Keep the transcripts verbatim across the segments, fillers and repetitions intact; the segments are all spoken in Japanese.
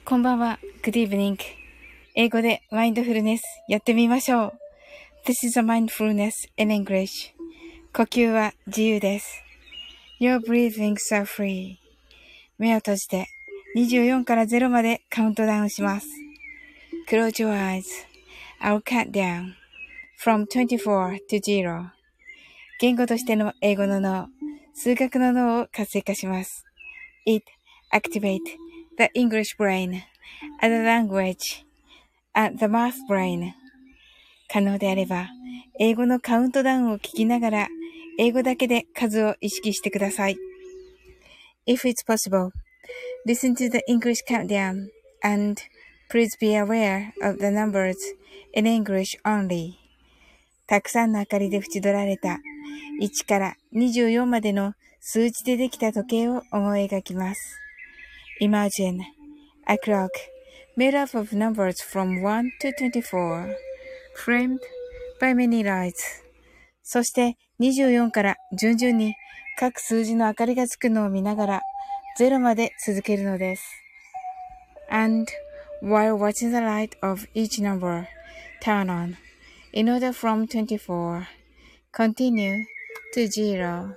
こんばんは。Good evening. 英語でマインドフルネスやってみましょう。This is a mindfulness in English. 呼吸は自由です。Your breathings are free. 目を閉じてにじゅうよんからゼロまでカウントダウンします。Close your eyes. I'll count down from twenty-four to zero. 言語としての英語の脳、数学の脳を活性化します。It activates the English brain, as a language, and the math brain. 可能であれば、英語のカウントダウンを聞きながら、英語だけで数を意識してください。If it's possible, listen to the English countdown, and please be aware of the numbers in English only. たくさんの明かりで縁取られたいちからにじゅうよんまでの数字でできた時計を思い描きます。Imagine a clock made up of numbers from one to twenty-four, framed by many lights. そしてにじゅうよんから順々に各数字の明かりがつくのを見ながらゼロまで続けるのです。And while watching the light of each number turn on, in order from twenty-four, continue to zero.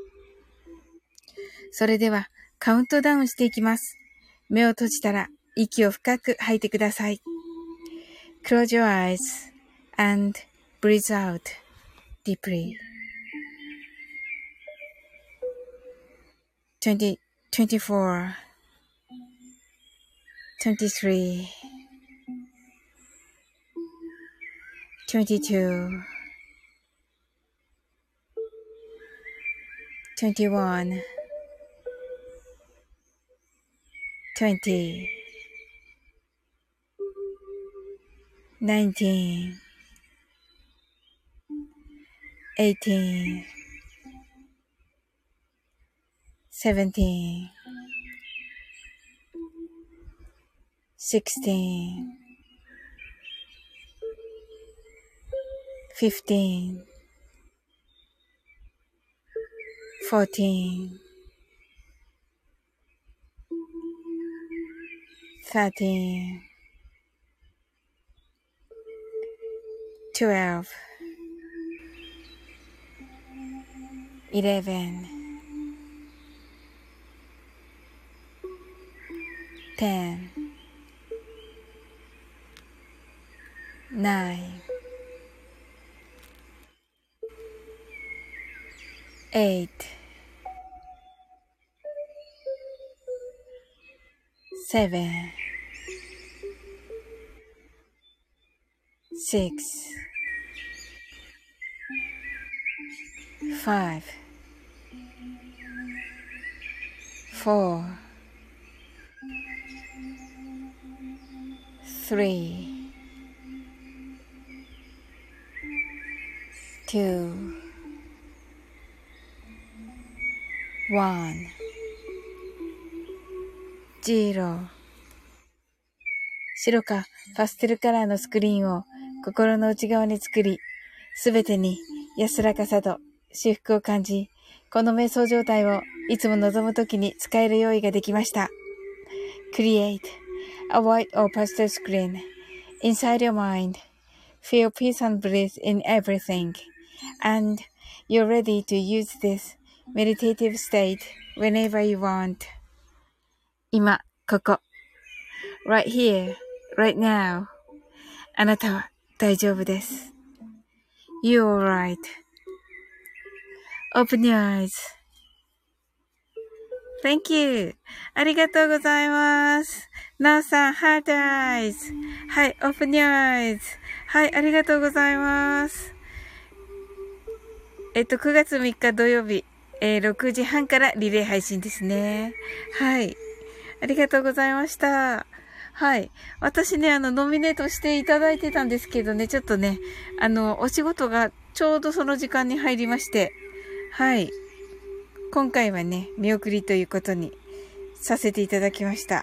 それではカウントダウンしていきます。目を閉じたら息を深く吐いてください。Close your eyes and breathe out deeply. twenty, twenty-four, twenty-three, twenty-two, twenty-one, twenty, nineteen, eighteen, seventeen, sixteen, fifteen, fourteen, thirteen, twelve, eleven, ten, nine, eight, seven, six, five, four, three, two, one, zero。白かパステルカラーのスクリーンを心の内側に作り、すべてに安らかさと至福を感じ、この瞑想状態をいつも望むときに使える用意ができました。Create a white or pastel screen inside your mind. Feel peace and bliss in everything. And you're ready to use this meditative state whenever you want. 今、ここ。Right here, right now. あなたは大丈夫です。You're alright.Open your eyes. Thank you. ありがとうございます。なおさん、Heart Eyes. はい、Open your eyes. はい、ありがとうございます。えっと、くがつみっか土曜日、えー、ろくじはんからリレー配信ですね。はい。ありがとうございました。はい。私ね、あの、ノミネートしていただいてたんですけどね、ちょっとね、あの、お仕事がちょうどその時間に入りまして、はい。今回はね、見送りということにさせていただきました。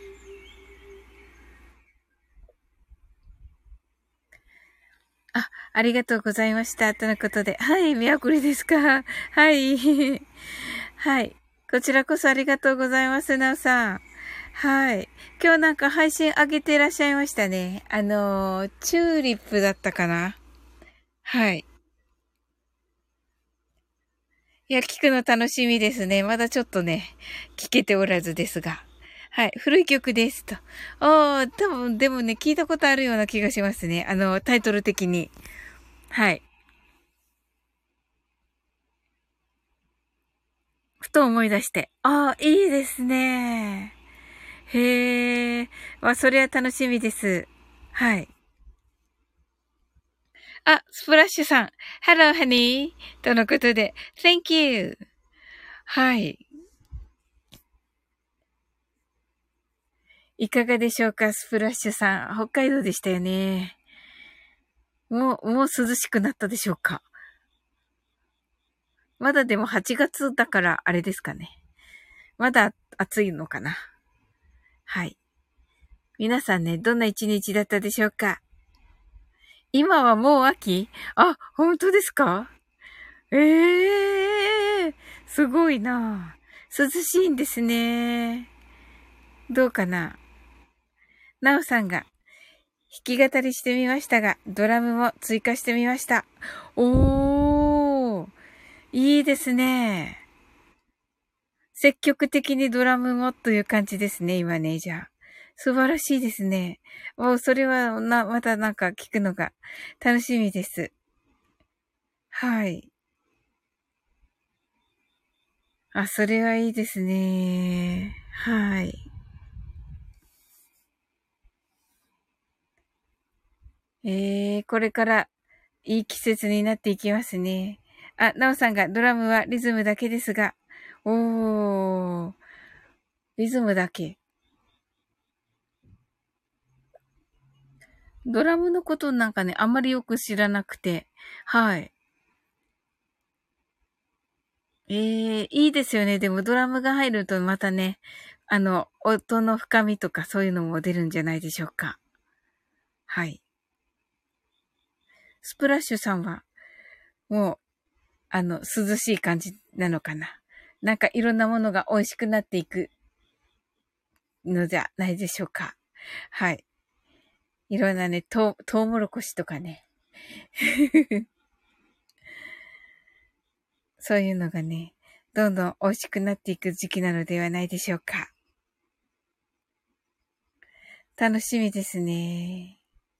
あ、ありがとうございました。とのことで。はい、見送りですか。はい。はい。こちらこそありがとうございます、なおさん。 はい。今日なんか配信上げていらっしゃいましたね。あのー、チューリップだったかな。はい。いや、聞くの楽しみですね。まだちょっとね、聞けておらずですが。はい。古い曲ですと。ああ、多分、でもね、聞いたことあるような気がしますね。あの、タイトル的に。はい。ふと思い出して。ああ、いいですね。へえ。まあ、それは楽しみです。はい。あ、スプラッシュさん。Hello, honey. とのことで、Thank you. はい。いかがでしょうか、スプラッシュさん。北海道でしたよね。もう、もう涼しくなったでしょうか。まだでもはちがつだからあれですかね。まだ暑いのかな。はい。皆さんね、どんな一日だったでしょうか。今はもう秋？あ、本当ですか？ええー、すごいな。涼しいんですね。どうかな。なおさんが弾き語りしてみましたが、ドラムも追加してみました。おー、いいですね。積極的にドラムもという感じですね、今ね、じゃあ。素晴らしいですね。もうそれはな、またなんか聞くのが楽しみです。はい。あ、それはいいですね。はい。えー、これからいい季節になっていきますね。あ、なおさんがドラムはリズムだけですが、おー、リズムだけ。ドラムのことなんかね、あんまりよく知らなくて、はい。ええ、いいですよね。でもドラムが入るとまたね、あの、音の深みとかそういうのも出るんじゃないでしょうか。はい。スプラッシュさんは、もう、あの、涼しい感じなのかな。なんかいろんなものが美味しくなっていくのじゃないでしょうか。はい。いろんなね、とう、トウモロコシとかね。そういうのがね、どんどん美味しくなっていく時期なのではないでしょうか。楽しみですね。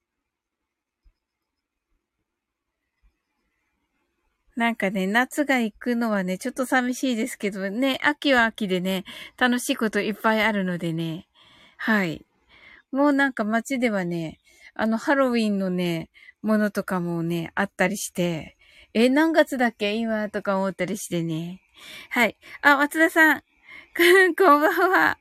なんかね、夏が行くのはね、ちょっと寂しいですけどね、秋は秋でね、楽しいこといっぱいあるのでね。はい。もうなんか街ではね、あの、ハロウィンのね、ものとかもね、あったりして、え、何月だっけ今とか思ったりしてね。はい。あ、松田さん。こんばんは。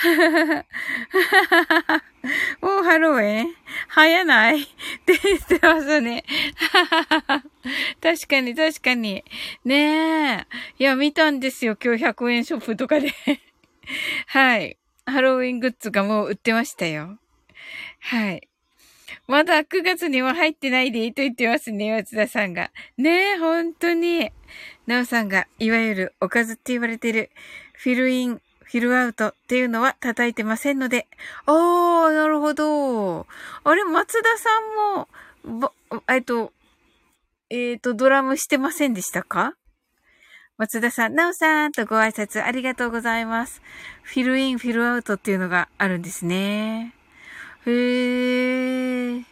もうハロウィン早ないって言ってますね。確かに、確かに。ねえ。いや、見たんですよ。今日ひゃくえんショップとかで。はい。ハロウィングッズがもう売ってましたよ。はい。まだくがつには入ってないでと言ってますね、松田さんが。ねえ、本当に。なおさんが、いわゆるおかずって言われてる、フィルイン、フィルアウトっていうのは叩いてませんので。あー、なるほど。あれ、松田さんも、ば、えっと、えっと、ドラムしてませんでしたか？松田さん、なおさんとご挨拶ありがとうございます。フィルイン、フィルアウトっていうのがあるんですね。へー。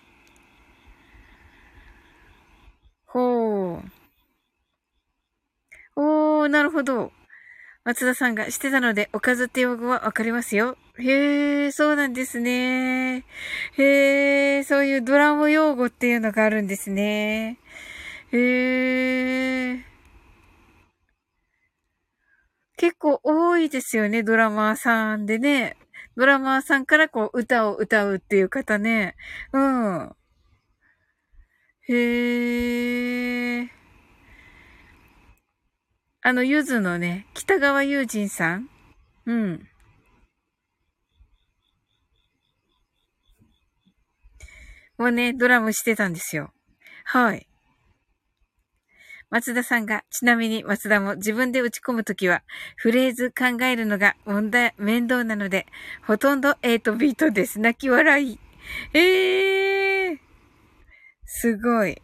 ほう。おー、なるほど。松田さんがしてたので、おかずって用語はわかりますよ。へー、そうなんですね。へー、そういうドラム用語っていうのがあるんですね。へー。結構多いですよね、ドラマーさんでね。ドラマーさんからこう、歌を歌うっていう方ね。うん。へー。あの、ゆずのね、北川悠仁さん。うん。もうね、ドラムしてたんですよ。はい。 松田さんが、ちなみに松田も自分で打ち込むときは、フレーズ考えるのが問題、面倒なので、ほとんどはちビートです。泣き笑い。ええー、すごい。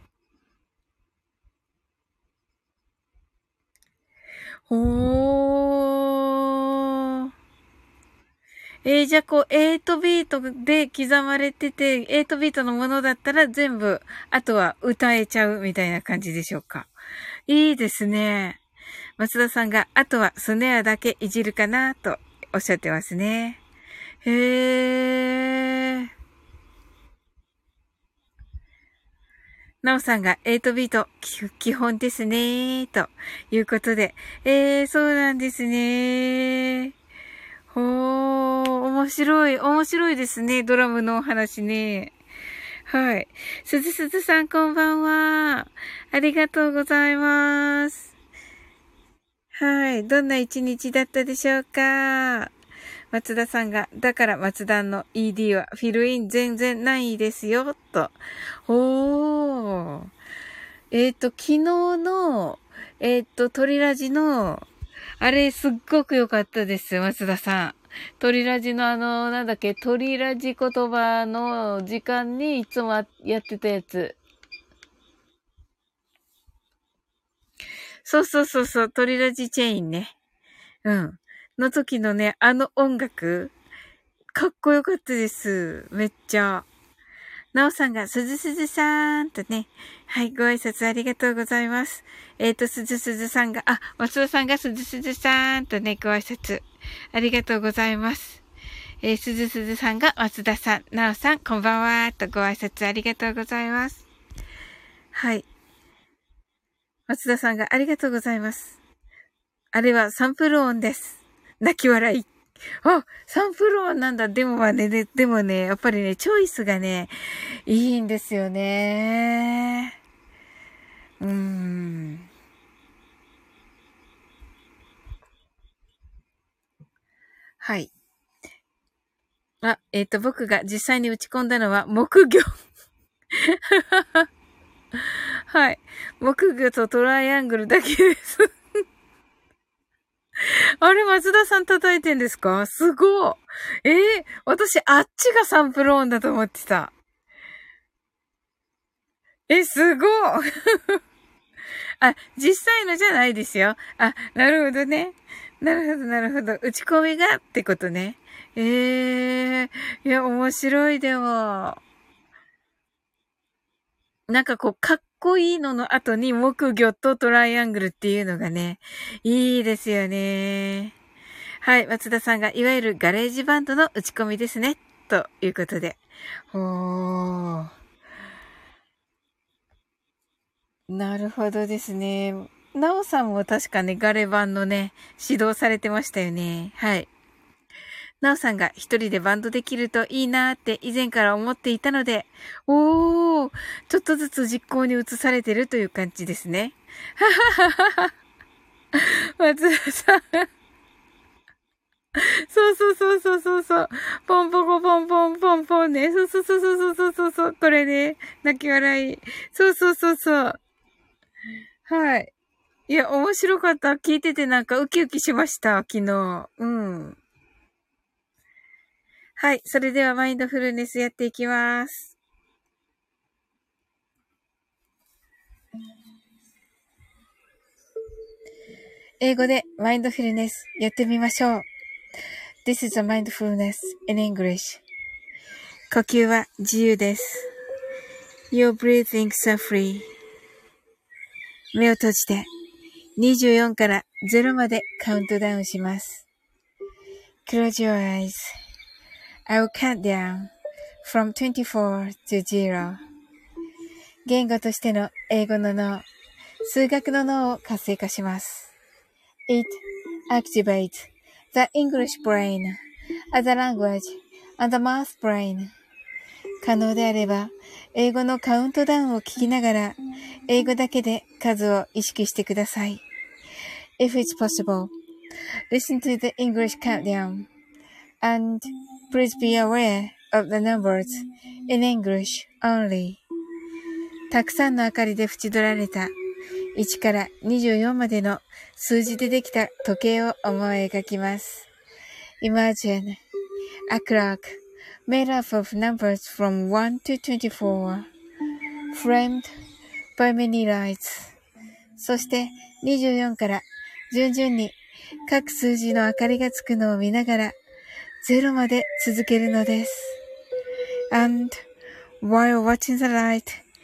おー。えー、じゃあこう、はちビートで刻まれてて、はちビートのものだったら全部、あとは歌えちゃうみたいな感じでしょうか。いいですね。松田さんが、あとはスネアだけいじるかなとおっしゃってますね。へー。なおさんがはちビート基本ですねということで。えー、そうなんですね。ほー、面白い、面白いですね。ドラムのお話ね。はい。すずすずさんこんばんは。ありがとうございます。はい。どんな一日だったでしょうか。松田さんが、だから松田の イーディー はフィルイン全然ないですよ、と。おー。えっと、昨日の、えっと、トリラジの、あれ、すっごく良かったです、松田さん。トリラジのあの、なんだっけ、トリラジ言葉の時間にいつもやってたやつ。そうそうそうそう、トリラジチェーンね。うん。の時のね、あの音楽、かっこよかったです。めっちゃ。なおさんが、すずすずさーんとね。はい、ご挨拶ありがとうございます。えっと、すずすずさんが、あ、松田さんがすずすずさーんとね、ご挨拶ありがとうございます。えー、すずすずさんが、松田さん、なおさん、こんばんはーとご挨拶ありがとうございます。はい。松田さんが、ありがとうございます。あれはサンプル音です。泣き笑い。あ、サンプル音なんだ。でもまあね、で、でもね、やっぱりね、チョイスがね、いいんですよね。うーん。はい。あ、えっと、僕が実際に打ち込んだのは木魚。はい。木魚とトライアングルだけです。あれ、松田さん叩いてんですか？すごい。えー、私、あっちがサンプル音だと思ってた。え、すごい。あ、実際のじゃないですよ。あ、なるほどね。なるほど、なるほど。打ち込みがってことね。ええー、いや、面白いでも。なんかこう、かっこいいのの後に木魚とトライアングルっていうのがね、いいですよね。はい、松田さんが、いわゆるガレージバンドの打ち込みですね。ということで。ほー。なるほどですね。なおさんも確かね、ガレ版のね、指導されてましたよね。はい。なおさんが一人でバンドできるといいなーって以前から思っていたので、おー、ちょっとずつ実行に移されてるという感じですね。はははは。松田さん。そうそうそうそうそうそう。ポンポコポンポンポンポンね。そうそうそうそうそうそうそう。これね。泣き笑い。そうそうそうそう。はい。いや、面白かった。聞いててなんかウキウキしました。昨日。うん。はい。それではマインドフルネスやっていきます。英語でマインドフルネスやってみましょう。This is a mindfulness in English. 呼吸は自由です。Your breathing are free. 目を閉じてにじゅうよんからゼロまでカウントダウンします。Close your eyes. I will count down from twenty-four to zero. 言語としての英語の脳、数学の脳を活性化します。It activates the English brain as a language and the math brain. 可能であれば、英語のカウントダウンを聞きながら、英語だけで数を意識してください。If it's possible, listen to the English countdown and please be aware of the numbers in English only. たくさんの明かりで縁取られたいちからにじゅうよんまでの数字でできた時計を思い描きます。Imagine a clock made up of numbers from one to twenty-four, framed by many lights. そしてにじゅうよんから順々に各数字の明かりがつくのを見ながらゼロまで続けるのです。And while watching the light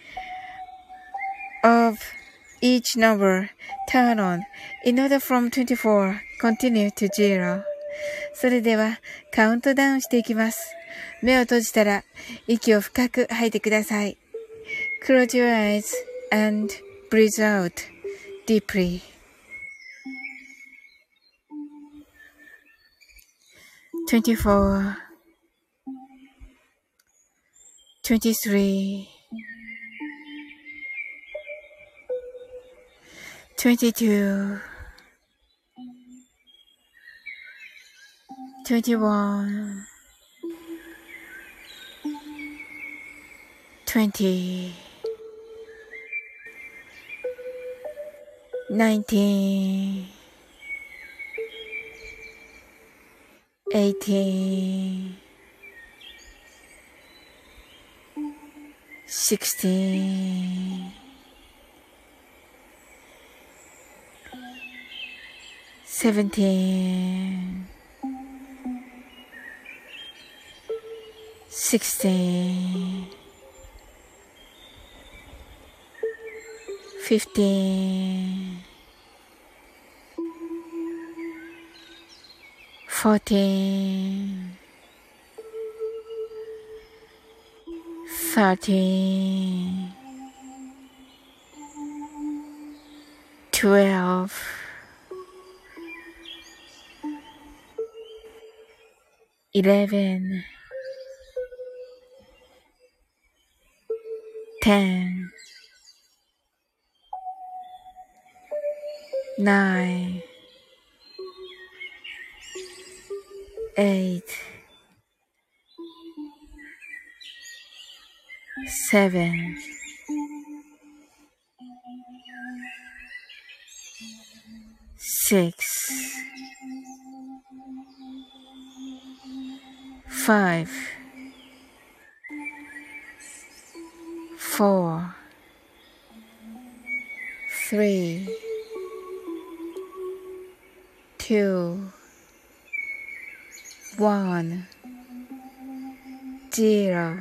of each number turn on in order from twenty-four continue to zero. それではカウントダウンしていきます。目を閉じたら息を深く吐いてください。Close your eyes and breathe out deeply. twenty-four, twenty-three, twenty-two, twenty-one, twenty, nineteen, eighteen, sixteen, seventeen, sixteen, fifteen, fourteen, thirteen, twelve, eleven, ten, nine, eight, seven, six, five, four, three, two, one, zero。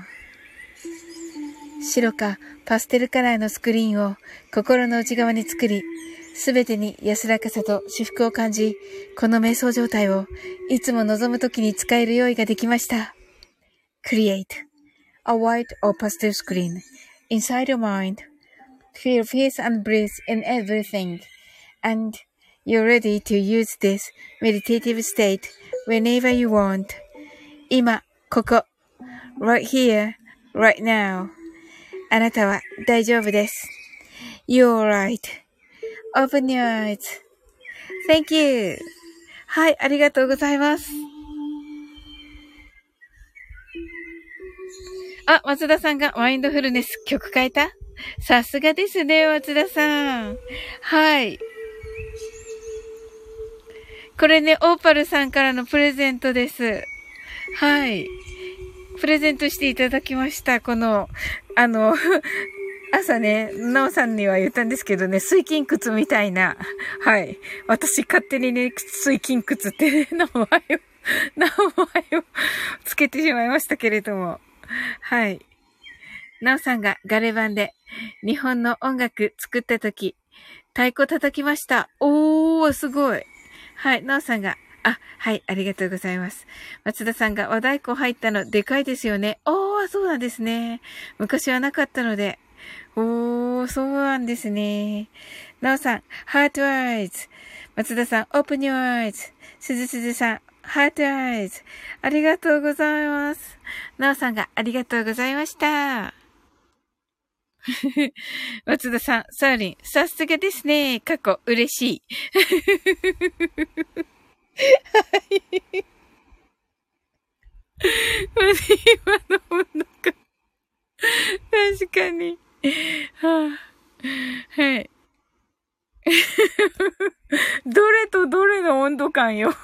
白かパステルカラーのスクリーンを心の内側に作り、すべてに安らかさと至福を感じ、この瞑想状態をいつも望むときに使える用意ができました。Create a white or pastel screen inside your mind. Feel peace and bliss in everything. And you're ready to use this meditative state whenever you want. 今、ここ。Right here, right now. あなたは大丈夫です。You're right.Open your eyes. Thank you. はい、ありがとうございます。あ、松田さんがマインドフルネス曲変えた？さすがですね、松田さん。はい。これね、オーパルさんからのプレゼントです。はい。プレゼントしていただきました。この、あの、朝ね、なおさんには言ったんですけどね、水筋靴みたいな。はい。私勝手にね、水筋靴ってね、名前を、名前をつけてしまいましたけれども。はい。なおさんがガレ版で日本の音楽作った時、太鼓叩きました。おー、すごい。はい。なおさんが、あ、はい、ありがとうございます。松田さんが和太鼓入ったのでかいですよね。おー、そうなんですね。昔はなかったので。おー、そうなんですね。なおさん、ハートアイズ。松田さん、オープニューアイズ。すずすずさん、ハートアイズ。ありがとうございます。なおさんがありがとうございました。松田さん、サーリン、さすがですね。過去、嬉しい。はい。今のものか。確かに。はあ、はい。 どれとどれの温度感よ。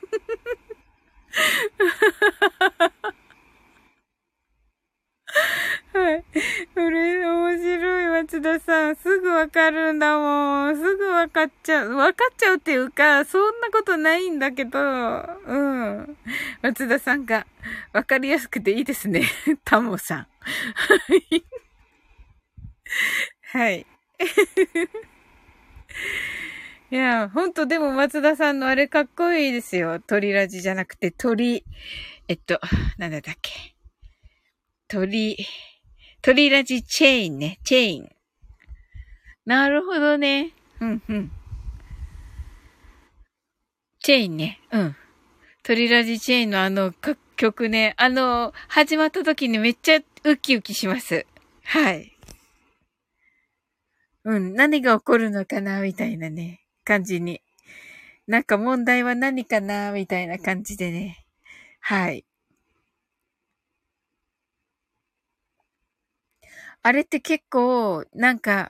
はい。それ、面白い、松田さん。すぐわかるんだもん。すぐわかっちゃう。わかっちゃうっていうか、そんなことないんだけど、うん。松田さんが、わかりやすくていいですね。タモさん。はい。はい。いや、ほんとでも松田さんのあれかっこいいですよ。鳥ラジじゃなくて鳥、えっと、なんだったっけ。鳥、鳥ラジチェーンね。チェーン。なるほどね。うんうん。チェーンね。うん。鳥ラジチェーンのあの曲ね。あの、始まった時にめっちゃウキウキします。はい。うん。何が起こるのかなみたいなね。感じに。なんか問題は何かなみたいな感じでね。はい。あれって結構、なんか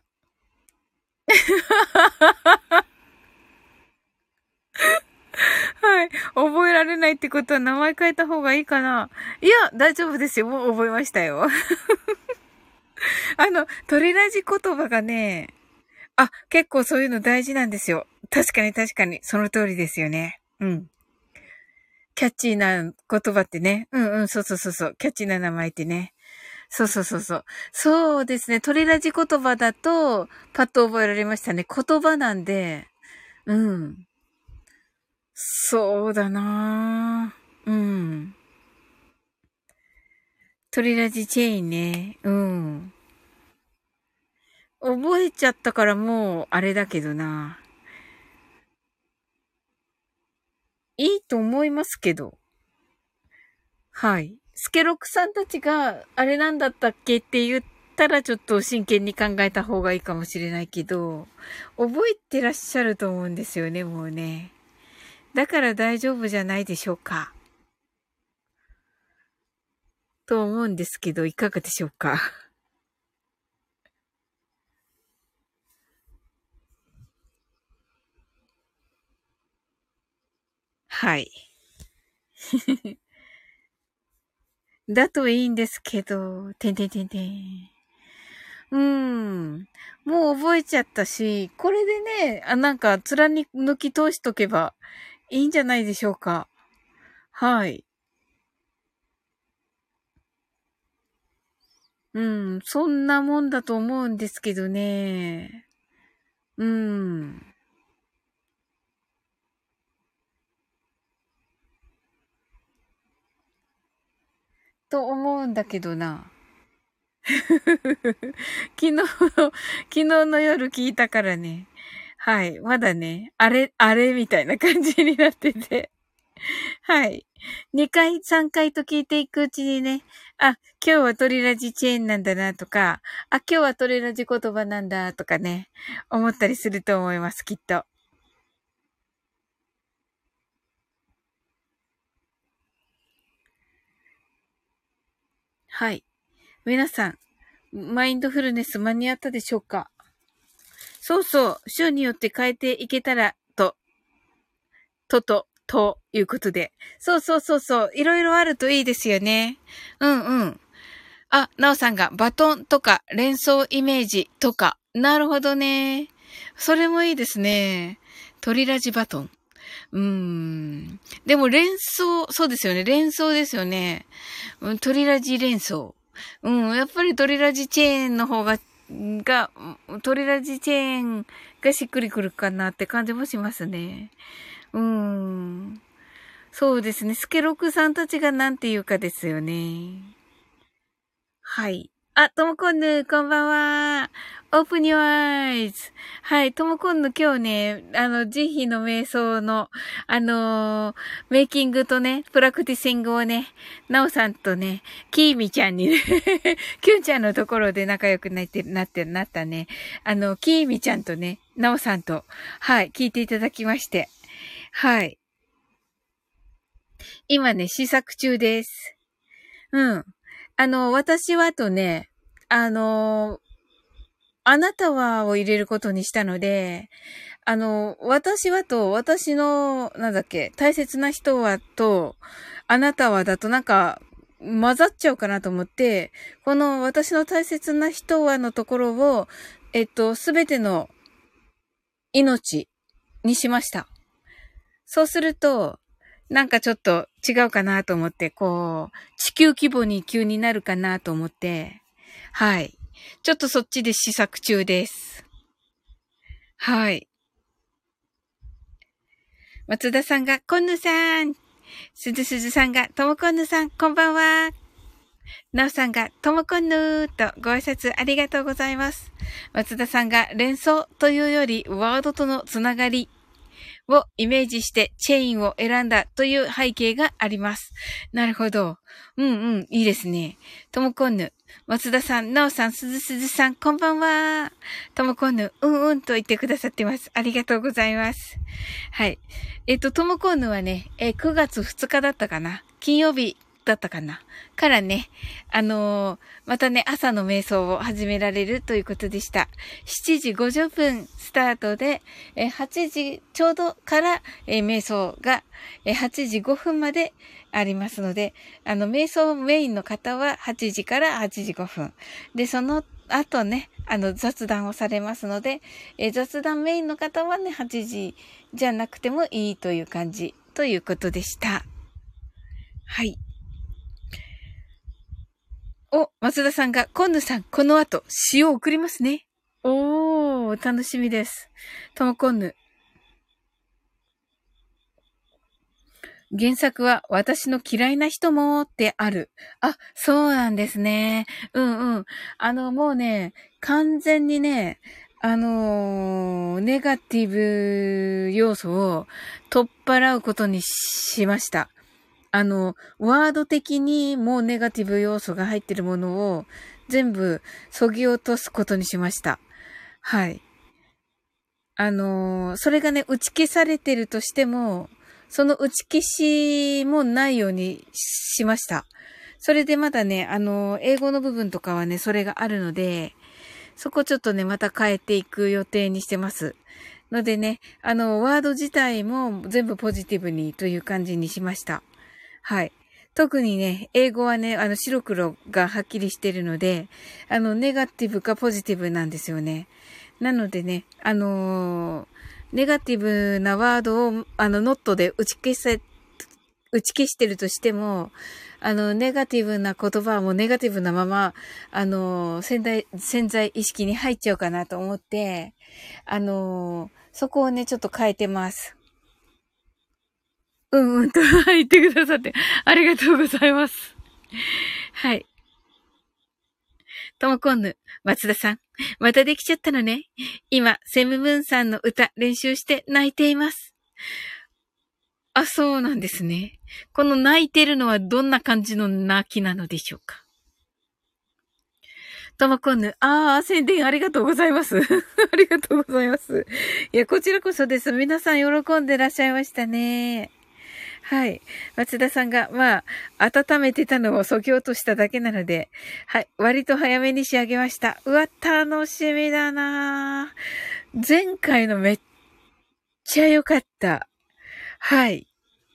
はい。覚えられないってことは名前変えた方がいいかな。いや、大丈夫ですよ。もう覚えましたよ。あの、鳥ラジ言葉がね、あ、結構そういうの大事なんですよ。確かに確かに。その通りですよね。うん。キャッチーな言葉ってね。うんうん、そうそうそうそう。キャッチーな名前ってね。そうそうそうそう。そうですね。鳥ラジ言葉だと、パッと覚えられましたね。言葉なんで、うん。そうだなぁ。うん。鳥ラジチェーンね。うん。覚えちゃったからもう、あれだけどな。いいと思いますけど。はい。スケロクさんたちが、あれなんだったっけって言ったらちょっと真剣に考えた方がいいかもしれないけど、覚えてらっしゃると思うんですよね、もうね。だから大丈夫じゃないでしょうか。と思うんですけど、いかがでしょうか。はい。だといいんですけど、てんてんてんてん。うーん。もう覚えちゃったし、これでね、あ、なんか貫き通しとけばいいんじゃないでしょうか。はい。うん。そんなもんだと思うんですけどね。うん。と思うんだけどな。昨日の、昨日の夜聞いたからね。はい。まだね、あれ、あれみたいな感じになってて。はい。にかい、さんかいと聞いていくうちにね、あ、今日はトリラジチェーンなんだなとか、あ、今日はトリラジ言葉なんだとかね、思ったりすると思います、きっと。はい。皆さん、マインドフルネス間に合ったでしょうか？そうそう、週によって変えていけたら、と、とと、ということで。そうそうそうそう、いろいろあるといいですよね。うんうん。あ、なおさんがバトンとか連想イメージとか。なるほどね。それもいいですね。トリラジバトン。うーん。でも連想、そうですよね。連想ですよね。うん、トリラジ連想。うん。やっぱりトリラジチェーンの方が、が、トリラジチェーンがしっくりくるかなって感じもしますね。うーん。そうですね。スケロクさんたちがなんて言うかですよね。はい。あ、ともこんぬ、こんばんは。オープニュアイズ。はい、ともこんぬ今日ね、あの、慈悲の瞑想の、あのーメイキングとね、プラクティシングをね、なおさんとね、きーみちゃんにね、きゅんちゃんのところで仲良くなって、なって、なったね、あの、きーみちゃんとね、なおさんと、はい、聞いていただきまして、はい。今ね、試作中です。うん。あの、私はとね、あのあなたはを入れることにしたので、あの、私はと、私の、なんだっけ、大切な人はと、あなたはだとなんか、混ざっちゃうかなと思って、この私の大切な人はのところを、えっと、すべての命にしました。そうすると、なんかちょっと違うかなと思って、こう、地球規模に急になるかなと思って、はい。ちょっとそっちで試作中です。はい。松田さんが、こんぬさん。すずすずさんが、ともこんぬさん、こんばんは。なおさんが、ともこんぬーとご挨拶ありがとうございます。松田さんが、連想というより、ワードとのつながりをイメージしてチェーンを選んだという背景があります。なるほど。うんうん、いいですね。ともこんぬ。松田さん、なおさん、すずすずさん、こんばんは。ともこんぬ、うんうんと言ってくださってます。ありがとうございます。はい。えっと、ともこんぬはね、えくがつふつかだったかな。金曜日だったかな。からね、あのー、またね、朝の瞑想を始められるということでした。しちじごじゅっぷんスタートで、えはちじちょうどから、え瞑想が、えはちじごふんまでありますので、あの、瞑想メインの方ははちじからはちじごふん。で、そのあとね、あの、雑談をされますので、え雑談メインの方はね、はちじじゃなくてもいいという感じということでした。はい。お、松田さんが、コンヌさん、この後、詩を送りますね。おー、楽しみです。ともコンヌ。原作は私の嫌いな人もってある。あ、そうなんですね。うんうん。あの、もうね、完全にね、あのー、ネガティブ要素を取っ払うことにしました。あの、ワード的にもうネガティブ要素が入ってるものを全部削ぎ落とすことにしました。はい。あのー、それがね、打ち消されてるとしても、その打ち消しもないようにしました。それでまだね、あのー、英語の部分とかはね、それがあるので、そこちょっとね、また変えていく予定にしてます。のでね、あの、ワード自体も全部ポジティブにという感じにしました。はい。特にね、英語はね、あの、白黒がはっきりしてるので、あの、ネガティブかポジティブなんですよね。なのでね、あのー、ネガティブなワードを、あの、ノットで打ち消せ、打ち消してるとしても、あの、ネガティブな言葉はもうネガティブなまま、あのー、潜在、潜在意識に入っちゃうかなと思って、あのー、そこをね、ちょっと変えてます。うんうんと言ってくださって、ありがとうございます。はい。ともこんぬ、松田さん。またできちゃったのね。今、セムムーンさんの歌練習して泣いています。あ、そうなんですね。この泣いてるのはどんな感じの泣きなのでしょうか。ともこんぬ、ああ、宣伝ありがとうございます。ありがとうございます。いや、こちらこそです。皆さん喜んでらっしゃいましたね。はい。松田さんが、まあ、温めてたのを削ぎ落としただけなので、はい。割と早めに仕上げました。うわ、楽しみだなぁ。前回のめっちゃ良かった。はい。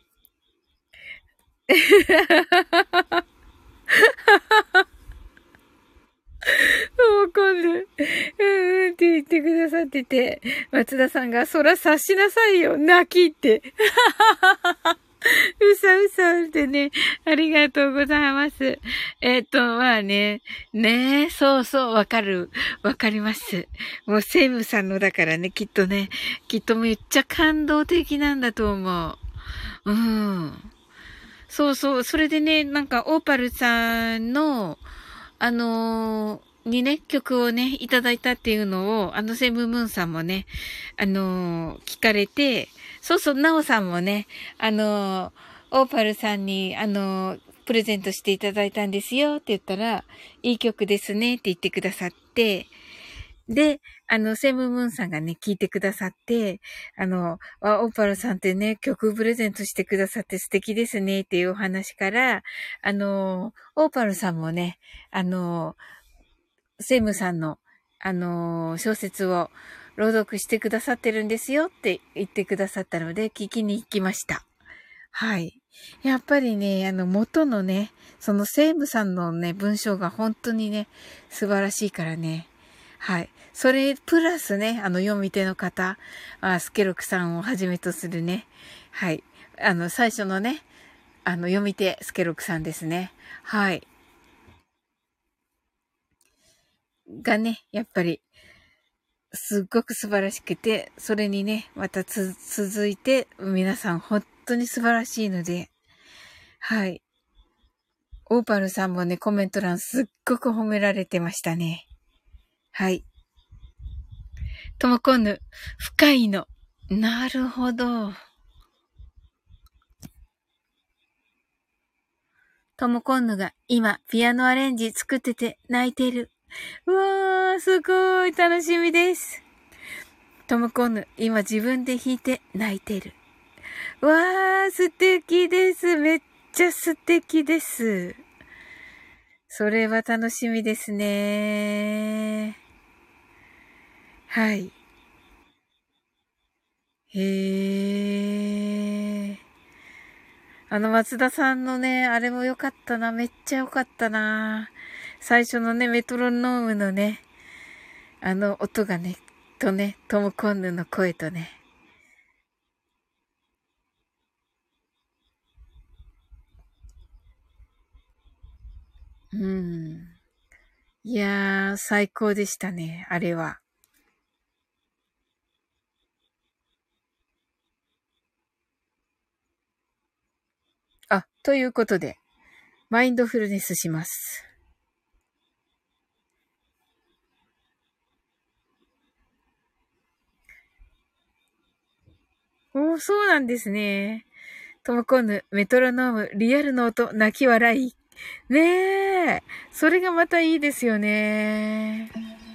わかんない。うんうんって言ってくださってて、松田さんが、そら察しなさいよ、泣きって。うさうさってね、ありがとうございます。えっと、まあね、ねえ、そうそう、わかる。わかります。もう、セイムさんのだからね、きっとね、きっとめっちゃ感動的なんだと思う。うん。そうそう、それでね、なんか、オーパルさんの、あのーにね、曲をね、いただいたっていうのを、あのセムムーンさんもね、あのー聞かれて、そうそう、ナオさんもね、あのーオーパルさんに、あのープレゼントしていただいたんですよって言ったら、いい曲ですねって言ってくださって、で、あの、セムムーンさんがね、聞いてくださって、あの、あオーパルさんってね、曲プレゼントしてくださって素敵ですねっていうお話から、あの、オーパルさんもね、あの、セムさんの、 あのー、小説を朗読してくださってるんですよって言ってくださったので、聞きに行きました。はい。やっぱりね、あの、元のね、そのセイムさんのね、文章が本当にね、素晴らしいからね。はい。それ、プラスね、あの、読み手の方、あスケロクさんをはじめとするね。はい。あの、最初のね、あの、読み手、スケロクさんですね。はい。がね、やっぱり、すっごく素晴らしくて、それにね、またつ、続いて、皆さん本当に素晴らしいので、はい。オーパルさんもね、コメント欄すっごく褒められてましたね。はい。ともこんぬ、深いの。なるほど。ともこんぬが今、ピアノアレンジ作ってて泣いてる。うわー、すごい楽しみです。ともこんぬ、今自分で弾いて泣いてる。うわー、素敵です。めっちゃ素敵です。それは楽しみですね。はい。へー。あの松田さんのね、あれも良かったな。めっちゃ良かったな。最初のね、メトロノームのね、あの音がね、とね、トムコンヌの声とね。うん。いやー、最高でしたね、あれは。あ、ということで、マインドフルネスします。おー、そうなんですね。トモコンヌ、メトロノーム、リアルの音、泣き笑い。ねえ。それがまたいいですよね。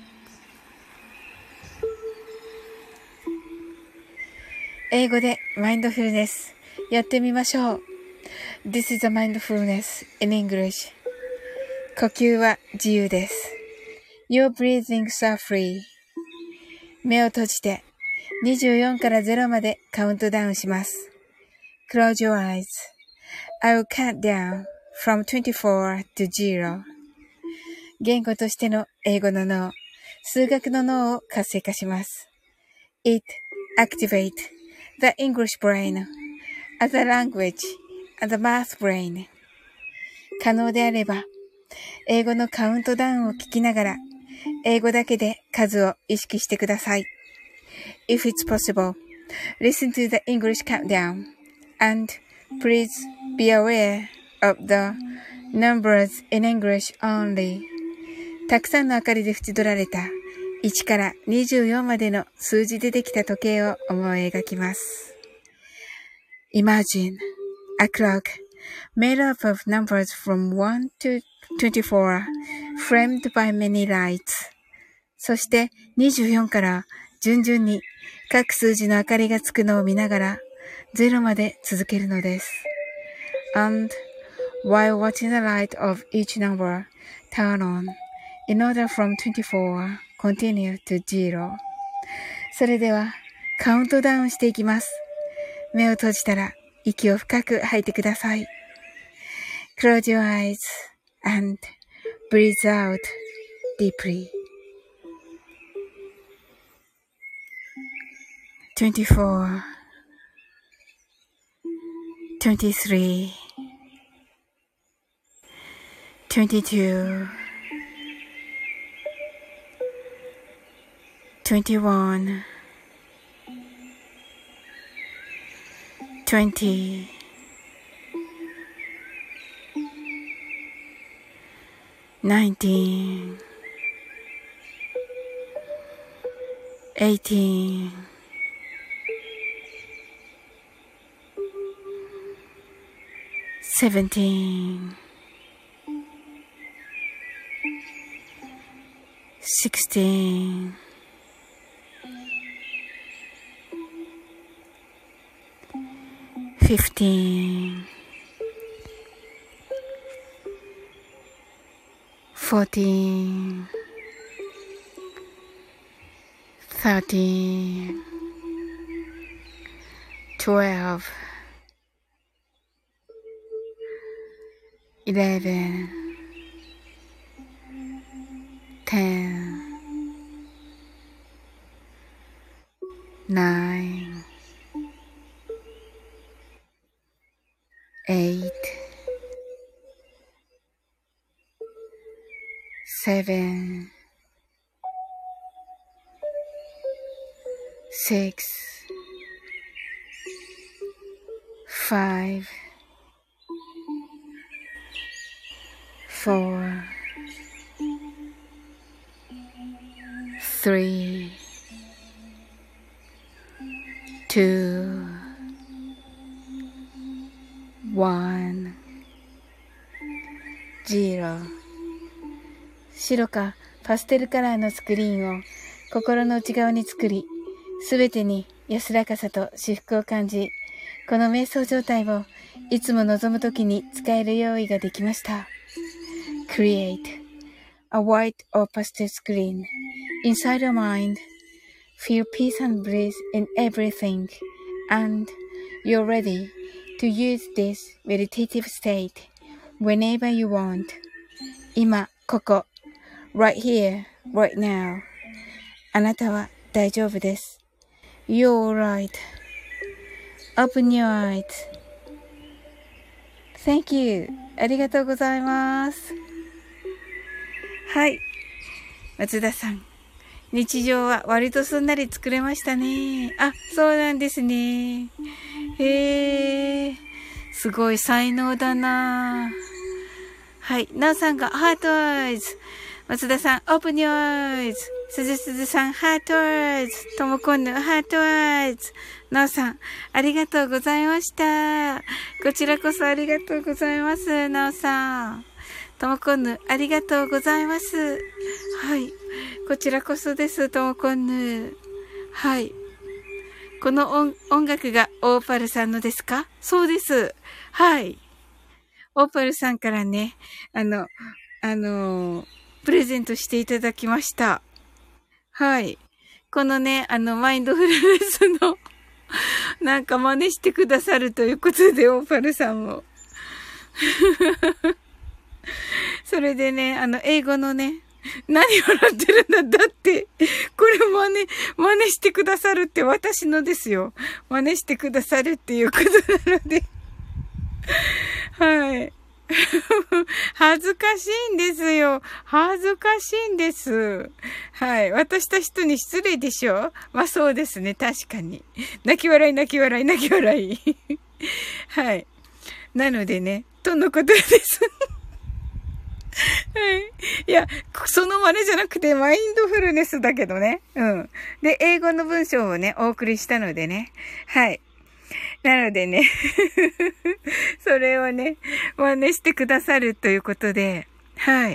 英語でマインドフルネス。やってみましょう。This is a mindfulness in English. 呼吸は自由です。Your breathings are free. 目を閉じてにじゅうよんからゼロまでカウントダウンします。Close your eyes. I will count down from twenty-four to zero. 言語としての英語の脳、数学の脳を活性化します。It activates the English brain as a language and the math brain. 可能であれば、英語のカウントダウンを聞きながら、英語だけで数を意識してください。If it's possible, listen to the English countdown and please be aware of the numbers in English only. たくさんの明かりで縁取られたいちからにじゅうよんまでの数字でできた時計を思い描きます。Imagine a clock made up of numbers from one to twenty-four, framed by many lights. そしてにじゅうよんから順々に各数字の明かりがつくのを見ながらゼロまで続けるのです。And while watching the light of each number turn on, in order from twenty-four, continue to zero. それではカウントダウンしていきます。目を閉じたら息を深く吐いてください。Close your eyes and breathe out deeply. twenty-four, twenty-three, twenty-two, twenty-one, twenty, nineteen, eighteen, seventeen, sixteen, fifteen, fourteen, thirteen, twelve, eleven, ten, nine, eight, seven, six, five, four, three, two, one, zero。白かパステルカラーのスクリーンを心の内側に作り、すべてに安らかさと至福を感じ、この瞑想状態をいつも望むときに使える用意ができました。Create a white or pastel screen inside your mind. Feel peace and bliss in everything, and you're ready to use this meditative state whenever you want. 今、ここ、right here, right now. あなたは大丈夫です。You're right.Open your eyes. Thank you. ありがとうございます。はい。松田さん。日常は割とすんなり作れましたね。あ、そうなんですね。へー。すごい才能だな。はい。なおさんがハートアイズ。松田さん、オープンヨーアイズ。すずすずさん、ハートアイズ。ともこんぬ、ハートアイズ。なおさん、ありがとうございました。こちらこそありがとうございます。なおさん。ともこんぬ、ありがとうございます。はい。こちらこそです、ともこんぬ。はい。この 音, 音楽がオーパルさんのですか？そうです。はい。オーパルさんからね、あの、あのー、プレゼントしていただきました。はい。このね、あの、マインドフルネスの、なんか真似してくださるということで、オーパルさんも。それでね、あの、英語のね、何笑ってるんだ、だって、これ真似、真似してくださるって私のですよ。真似してくださるっていうことなので。はい。恥ずかしいんですよ。恥ずかしいんです。はい。渡した人に失礼でしょ？まあそうですね。確かに。泣き笑い、泣き笑い、泣き笑い。はい。なのでね、とのことです。はい。いや、その真似じゃなくて、マインドフルネスだけどね。うん。で、英語の文章をね、お送りしたのでね。はい。なのでね、それをね、真似してくださるということで、はい。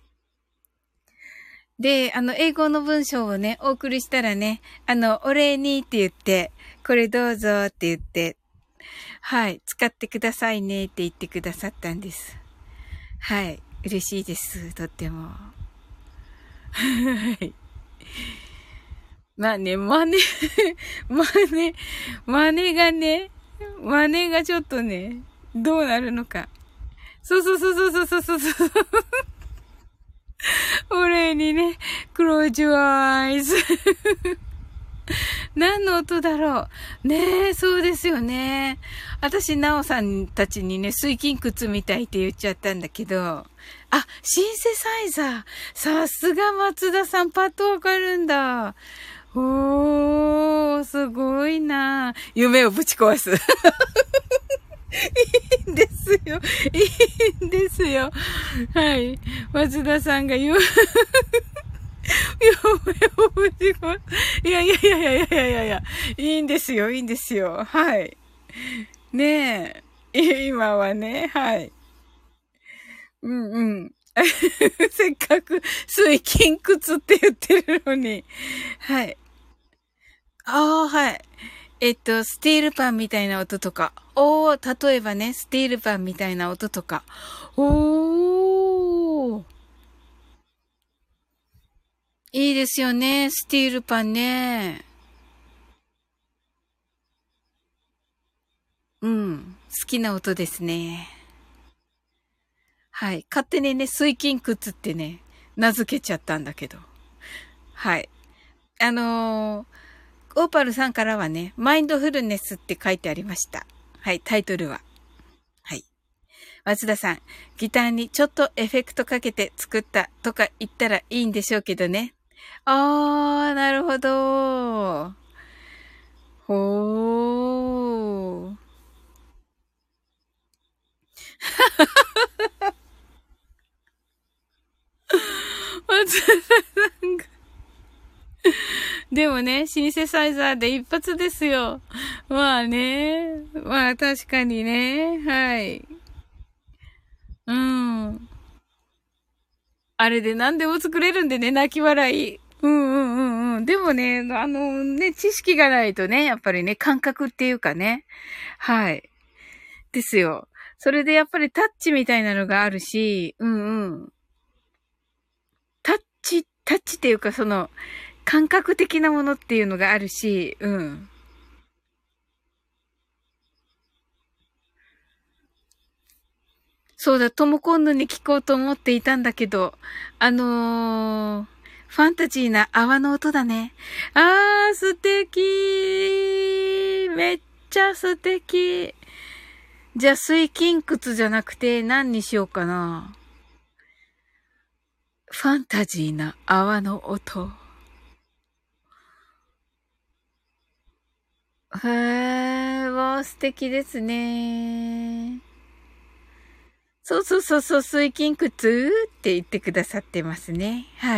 で、あの、英語の文章をね、お送りしたらね、あの、お礼にって言って、これどうぞって言って、はい、使ってくださいねって言ってくださったんです。はい、嬉しいです、とっても。はい。まあね、真似、真似、真似がね、真似がちょっとね、どうなるのか。そうそうそうそうそうそうそう。お礼にね、close your eyes。何の音だろう。ねえ、そうですよね。私、なおさんたちにね、水金窟みたいって言っちゃったんだけど、あ、シンセサイザー。さすが松田さん、パッとわかるんだ。おー、すごいな。夢をぶち壊す。いいんですよ。いいんですよ。はい。松田さんが夢、夢をぶち壊す。いやいやいやいやいやいやいや、いいんですよ、いいんですよ。はい。ねえ。今はね、はい。うんうん。せっかく水金窟って言ってるのに。はい。ああ、はい。えっと、スティールパンみたいな音とか。おー、例えばね、スティールパンみたいな音とか。おー。 いいですよね。スティールパンね。うん。好きな音ですね。はい。勝手にね、水金窟ってね、名付けちゃったんだけど。はい。あのー、オーパルさんからはね、マインドフルネスって書いてありました。はい、タイトルは。はい。松田さん、ギターにちょっとエフェクトかけて作ったとか言ったらいいんでしょうけどね。あー、なるほど。ほー。松田さんが。でもね、シンセサイザーで一発ですよ。まあね。まあ確かにね。はい。うん。あれで何でも作れるんでね、泣き笑い。うんうんうんうん。でもね、あのね、知識がないとね、やっぱりね、感覚っていうかね。はい。ですよ。それでやっぱりタッチみたいなのがあるし、うんうん。タッチ、タッチっていうかその、感覚的なものっていうのがあるし、うん。そうだ、トモコンヌに聞こうと思っていたんだけど、あのー、ファンタジーな泡の音だね。あー、素敵めっちゃ素敵じゃあ、水金窟じゃなくて何にしようかな。ファンタジーな泡の音。へー、わー、素敵ですね。そうそうそうそう、水金窟って言ってくださってますね。はい。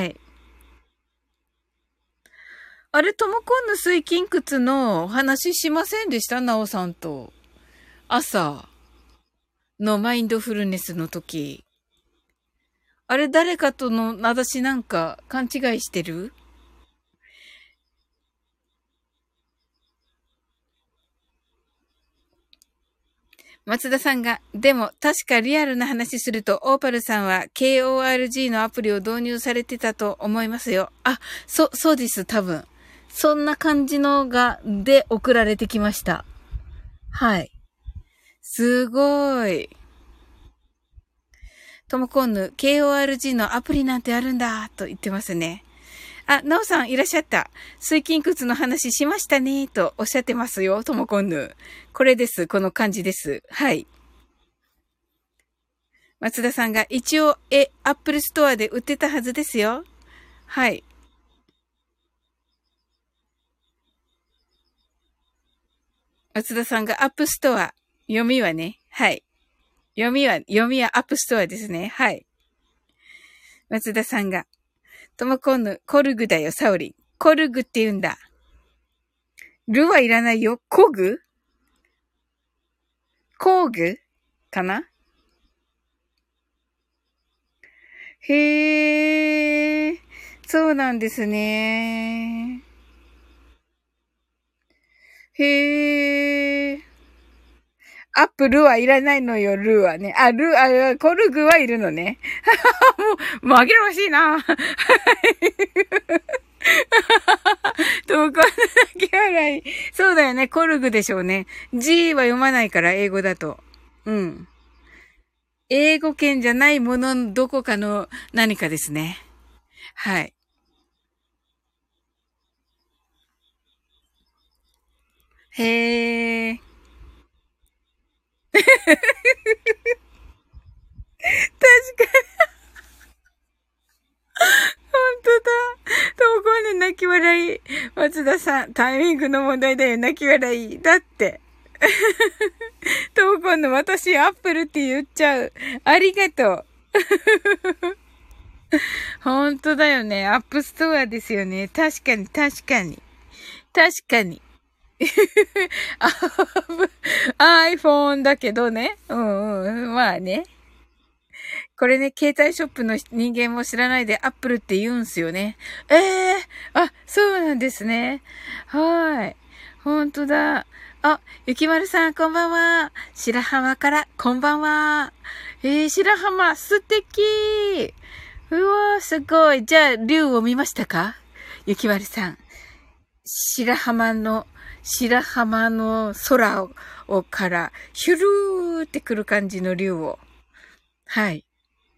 あれ、ともこんぬ水金窟のお話しませんでしたなおさんと。朝のマインドフルネスの時。あれ、誰かとの、私なんか勘違いしてる松田さんが、でも確かリアルな話すると、オーパルさんは ケーオーアールジー のアプリを導入されてたと思いますよ。あ、そ、そうです、多分。そんな感じのが、で送られてきました。はい。すごい。ともこんぬ、ケーオーアールジー のアプリなんてあるんだ、と言ってますね。あ、なおさんいらっしゃった。水金窟の話しましたね、とおっしゃってますよ、ともこんぬ。これです、この感じです。はい。松田さんが一応、え、アップルストアで売ってたはずですよ。はい。松田さんがアップストア。読みはね。はい。読みは、読みはアップストアですね。はい。松田さんが、ともこんぬ、コルグだよ、サオリン。コルグって言うんだ。ルはいらないよ。コグ工具かなへー。そうなんですね。へー。アップルはいらないのよ、ルーはね。あ、ルー、あ、コルグはいるのね。もう、紛らわしいな。はい。と、こんな泣き笑い。そうだよね、コルグでしょうね。G は読まないから、英語だと。うん。英語圏じゃないものどこかの何かですね。はい。へー。確かに、本当だ。ともこんな泣き笑い。松田さん、タイミングの問題だよ、泣き笑い。だって。ともこんの私、アップルって言っちゃう。ありがとう。本当だよね。アップストアですよね。確かに、確かに。確かに。iPhone だけどね。うんうん。まあね。これね、携帯ショップの人間も知らないでアップルって言うんすよね。ええー、あ、そうなんですね。はい。ほんとだ。あ、ゆきまるさん、こんばんは。白浜から、こんばんは。えー、白浜、素敵。ううわー、すごい。じゃあ、竜を見ましたか？ゆきまるさん。白浜の、白浜の空を、をから、ヒュルーってくる感じの竜を。はい。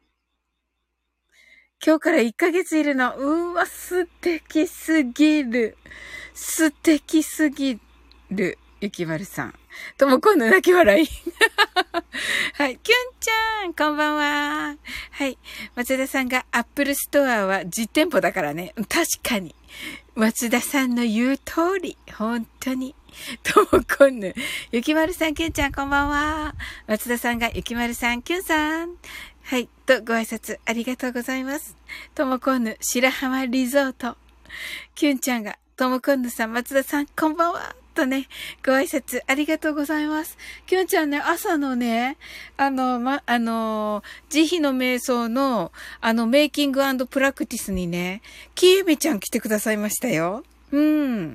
今日からいっかげついるの。うわ、素敵すぎる。素敵すぎる。ゆきまるさん。とも今度泣き笑い。はい。きゅんちゃん、こんばんは。はい。松田さんがアップルストアは実店舗だからね。確かに。松田さんの言う通り。本当に。ともこんぬ。ゆきまるさん、きゅんちゃん、こんばんは。松田さんがゆきまるさん、きゅんさん。はい。と、ご挨拶ありがとうございます。ともこんぬ、白浜リゾート。きゅんちゃんが、ともこんぬさん、松田さん、こんばんは。とね、ご挨拶ありがとうございます。きゅんちゃんね、朝のね、あの、ま、あの、慈悲の瞑想の、あの、メイキング&プラクティスにね、きえみちゃん来てくださいましたよ。うん。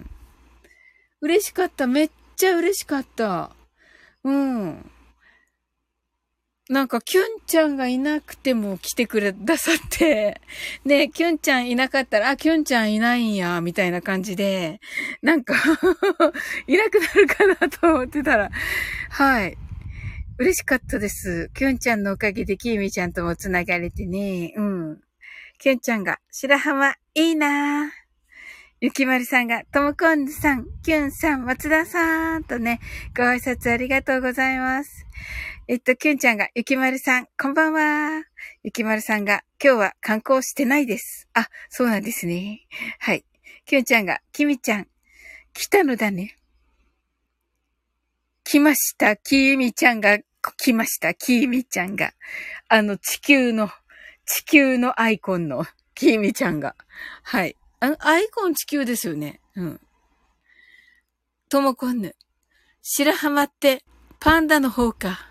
嬉しかった。めっちゃ嬉しかった。うん。なんか、キュンちゃんがいなくても来てくださって、ね、キュンちゃんいなかったら、あ、キュンちゃんいないんや、みたいな感じで、なんかいなくなるかなと思ってたら、はい。嬉しかったです。キュンちゃんのおかげでキーミちゃんともつながれてね、うん。キュンちゃんが、白浜いいなぁ。ゆきまるさんが、ともこんぬさん、きゅんさん、松田さんとね、ご挨拶ありがとうございます。えっと、きゅんちゃんが、ゆきまるさん、こんばんは。ゆきまるさんが、今日は観光してないです。あ、そうなんですね。はい。きゅんちゃんが、きみちゃん、来たのだね。来ました。きみちゃんが、来ました。きみちゃんが。あの、地球の、地球のアイコンの、きみちゃんが。はい。あアイコン地球ですよね。うん。ともこんぬ。白浜って、パンダの方か。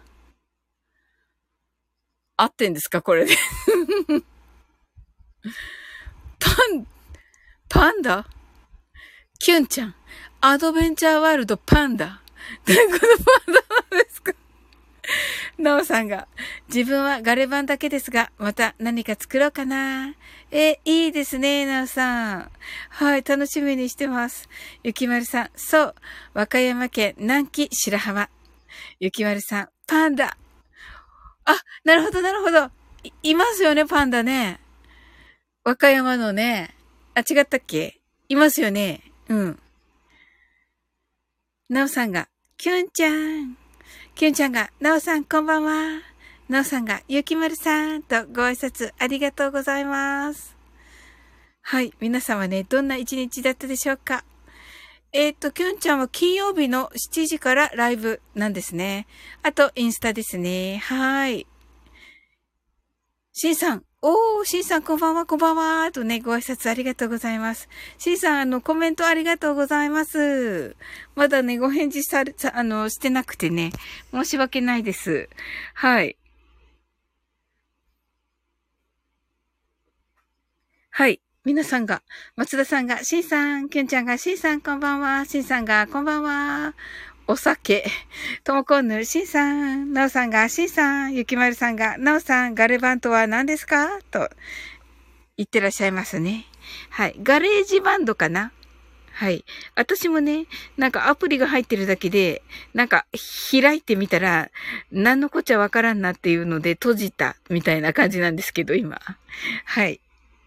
合ってんですかこれで。パン、パンダキュンちゃん。アドベンチャーワールドパンダ。どういうことパンダなんですか？なおさんが、自分はガレ版だけですが、また何か作ろうかな。え、いいですね、なおさん。はい、楽しみにしてます。ゆきまるさん、そう、和歌山県南紀白浜。ゆきまるさん、パンダ。あ、なるほど、なるほど。い、いますよね、パンダね。和歌山のね。あ、違ったっけ？いますよね。うん。なおさんが、きゅんちゃん。きゅんちゃんが、なおさんこんばんは。なおさんが、ゆきまるさんとご挨拶ありがとうございます。はい。皆様ね、どんな一日だったでしょうか？えっと、きゅんちゃんは金曜日のしちじからライブなんですね。あと、インスタですね。はい。しんさん。おー、しんさんこんばんは、こんばんは。とね、ご挨拶ありがとうございます。しんさん、あの、コメントありがとうございます。まだね、ご返事され、さあの、してなくてね、申し訳ないです。はい。はい。皆さんが、松田さんが、しんさん、きゅんちゃんが、しんさんこんばんは、しんさんが、こんばんは。お酒。ともこんぬ、しんさん。なおさんが、しんさん。ゆきまるさんが、なおさん、ガレバンとは何ですかと言ってらっしゃいますね。はい。ガレージバンドかな？はい。私もね、なんかアプリが入ってるだけで、なんか開いてみたら、何のこっちゃわからんなっていうので閉じたみたいな感じなんですけど、今。はい。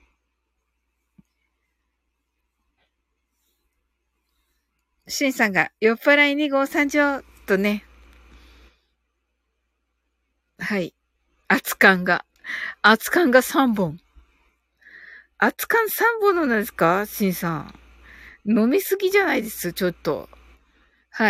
シンさんが酔っ払いに号参上とね、はい。熱燗が、熱燗がさんぼん。熱燗さんぼんなんですかシンさん。飲みすぎじゃないです、ちょっと。はい。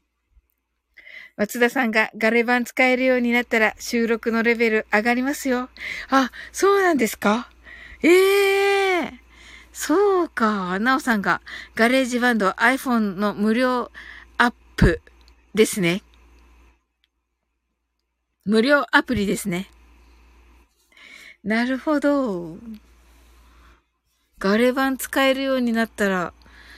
松田さんがガレ版使えるようになったら収録のレベル上がりますよ。あ、そうなんですか？ええー、そうか。なおさんがガレージバンド iPhone の無料アップですね。無料アプリですね。なるほど。ガレ版使えるようになったら、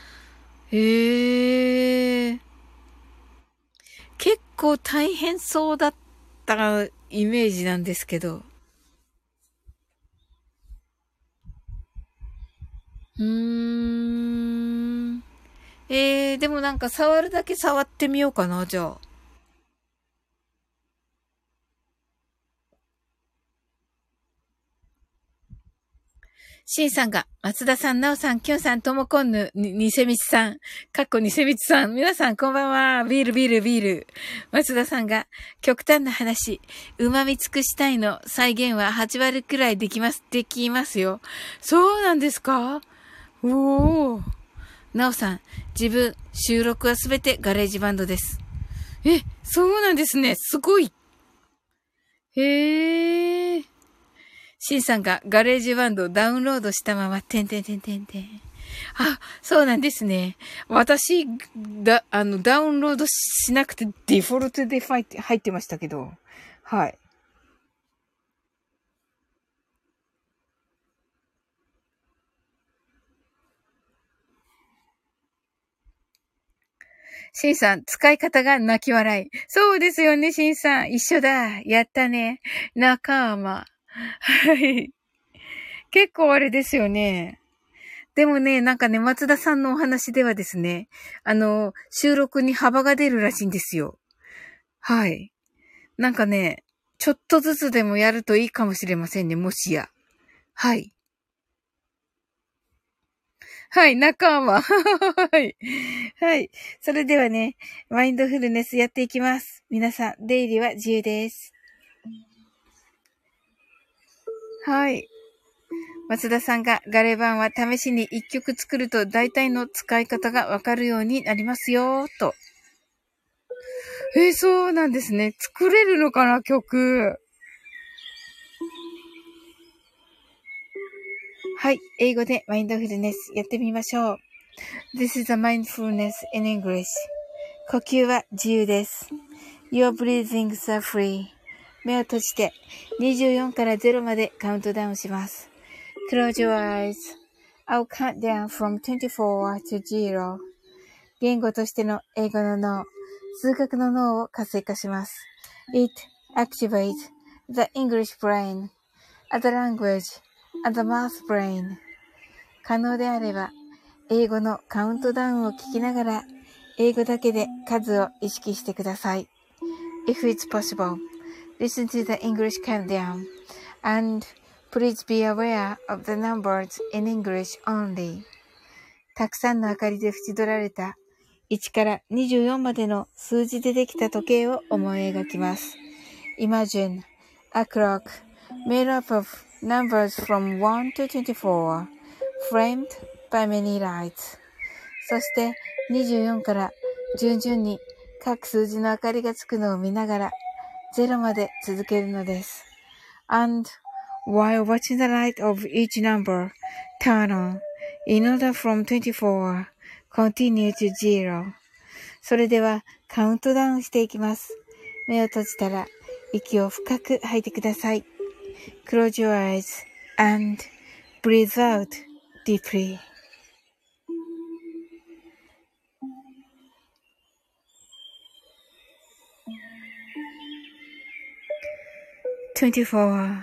へえ。結構大変そうだったイメージなんですけど。 うーん。えー、でもなんか触るだけ触ってみようかな、じゃあ。シンさんが、松田さん、ナオさん、キュンさん、ともこんぬ、に、にせみつさん、かっこにせみつさん、皆さんこんばんは、ビールビールビール。松田さんが、極端な話、旨味尽くしたいの再現ははち割くらいできます、できますよ。そうなんですか？おー。ナオさん、自分、収録はすべてガレージバンドです。え、そうなんですね。すごい。へー。シンさんがガレージバンドをダウンロードしたまま、てんてんてんてんてん。あ、そうなんですね。私、だ、あの、ダウンロードしなくてデフォルトで入って入ってましたけど。はい。シンさん、使い方が泣き笑い。そうですよね、シンさん。一緒だ。やったね。仲間。はい。結構あれですよね。でもね、なんかね、松田さんのお話ではですね、あの、収録に幅が出るらしいんですよ。はい。なんかね、ちょっとずつでもやるといいかもしれませんね、もしや。はい。はい、仲間。はい。はい。それではね、マインドフルネスやっていきます。皆さん、出入りは自由です。はい。松田さんがガレ版は試しに一曲作ると大体の使い方がわかるようになりますよ、と。えー、そうなんですね。作れるのかな、曲。はい。英語でマインドフルネスやってみましょう。This is a mindfulness in English. 呼吸は自由です。Your breathings are free. 目を閉じてにじゅうよんからゼロまでカウントダウンします。Close your eyes. I'll count down from twenty-four to zero. 言語としての英語の脳、数学の脳を活性化します。It activates the English brain, the language, and the math brain. 可能であれば、英語のカウントダウンを聞きながら、英語だけで数を意識してください。If it's possible, listen to the English countdown, and please be aware of the numbers in English only. たくさんの明かりで縁取られたいちからにじゅうよんまでの数字でできた時計を思い描きます。Imagine a clock made up of numbers from one to twenty-four, framed by many lights. そしてにじゅうよんから順々に各数字の明かりがつくのを見ながらゼロまで続けるのです。And while watching the light of each number turn on, in order from twenty-four, continue to zero. それではカウントダウンしていきます。目を閉じたら息を深く吐いてください。Close your eyes and breathe out deeply. twenty-four,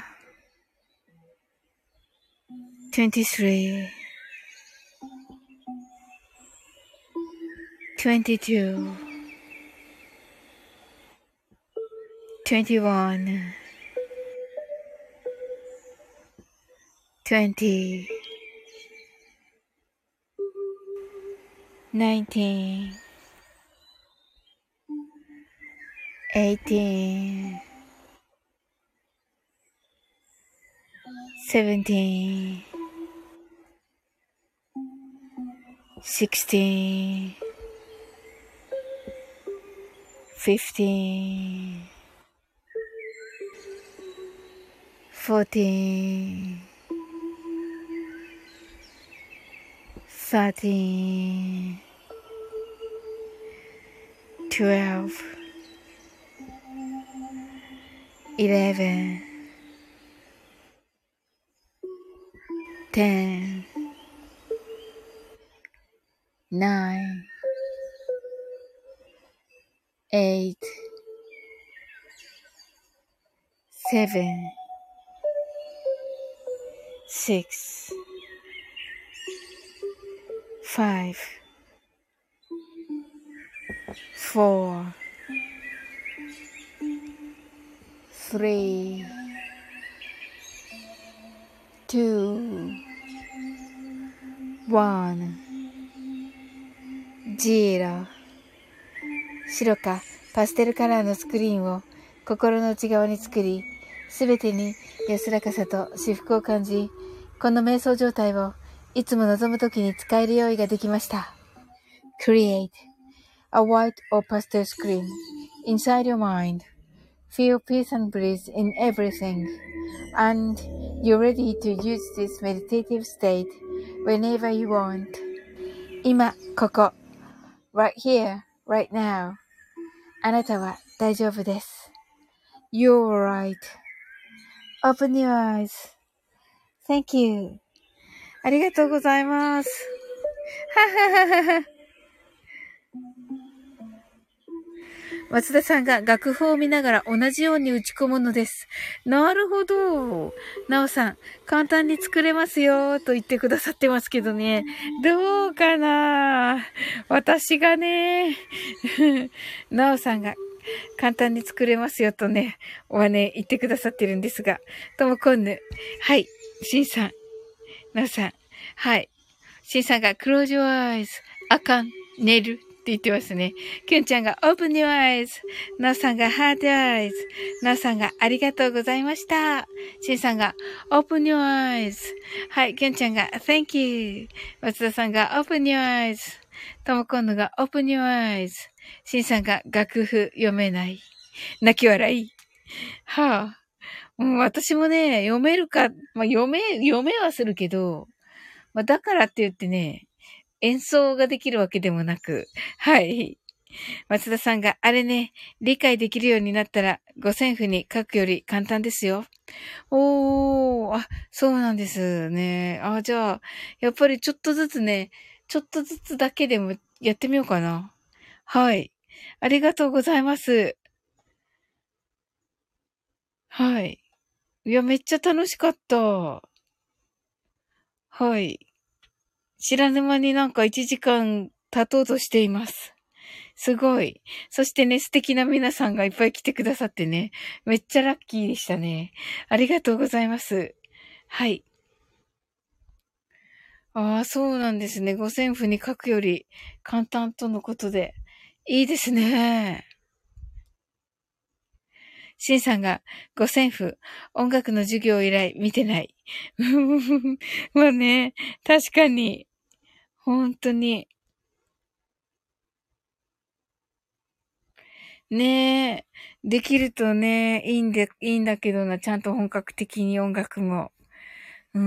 twenty-three, twenty-two, twenty-one, twenty, nineteen, eighteen, seventeen, sixteen, fifteen, fourteen, thirteen, twelve, eleven, ten, nine, eight, seven, six, five, four, three, two, one, zero。白かパステルカラーのスクリーンを心の内側に作り、すべてに安らかさと至福を感じ、この瞑想状態をいつも望むときに使える用意ができました。Create a white or pastel screen inside your mind. Feel peace and bliss in everything. And you're ready to use this meditative state whenever you want. 今、ここ。Right here, right now. あなたは大丈夫です。You're right.Open your eyes. Thank you. ありがとうございます。はははは。松田さんが楽譜を見ながら同じように打ち込むのです。なるほど。なおさん、簡単に作れますよと言ってくださってますけどね。どうかな？私がね、なおさんが簡単に作れますよとね、はね、言ってくださってるんですが。ともこんぬ。はい。しんさん。なおさん。はい。しんさんが close your eyes. あかん。寝る。って言ってますね。きゅんちゃんが open your eyes. なおさんが heart eyes. なおさんがありがとうございました。しんさんが open your eyes. はい。きゅんちゃんが thank you. 松田さんが open your eyes. ともこんぬが open your eyes. しんさんが楽譜読めない。泣き笑い。はぁ、あ。もう私もね、読めるか、まあ、読め、読めはするけど、まあ、だからって言ってね、演奏ができるわけでもなく、はい。松田さんが、あれね、理解できるようになったら、五線譜に書くより簡単ですよ。おー、あ、そうなんですね。あ、じゃあ、やっぱりちょっとずつね、ちょっとずつだけでもやってみようかな。はい。ありがとうございます。はい。いや、めっちゃ楽しかった。はい。知らぬ間になんかいちじかん経とうとしています。すごい。そしてね、素敵な皆さんがいっぱい来てくださってね、めっちゃラッキーでしたね。ありがとうございます。はい。ああ、そうなんですね。五線譜に書くより簡単とのことで。いいですね。シンさんが五線譜、音楽の授業以来見てない。まあね、確かに。本当に。ねえ。できるとね、いいんで、いいんだけどな、ちゃんと本格的に音楽も。うん。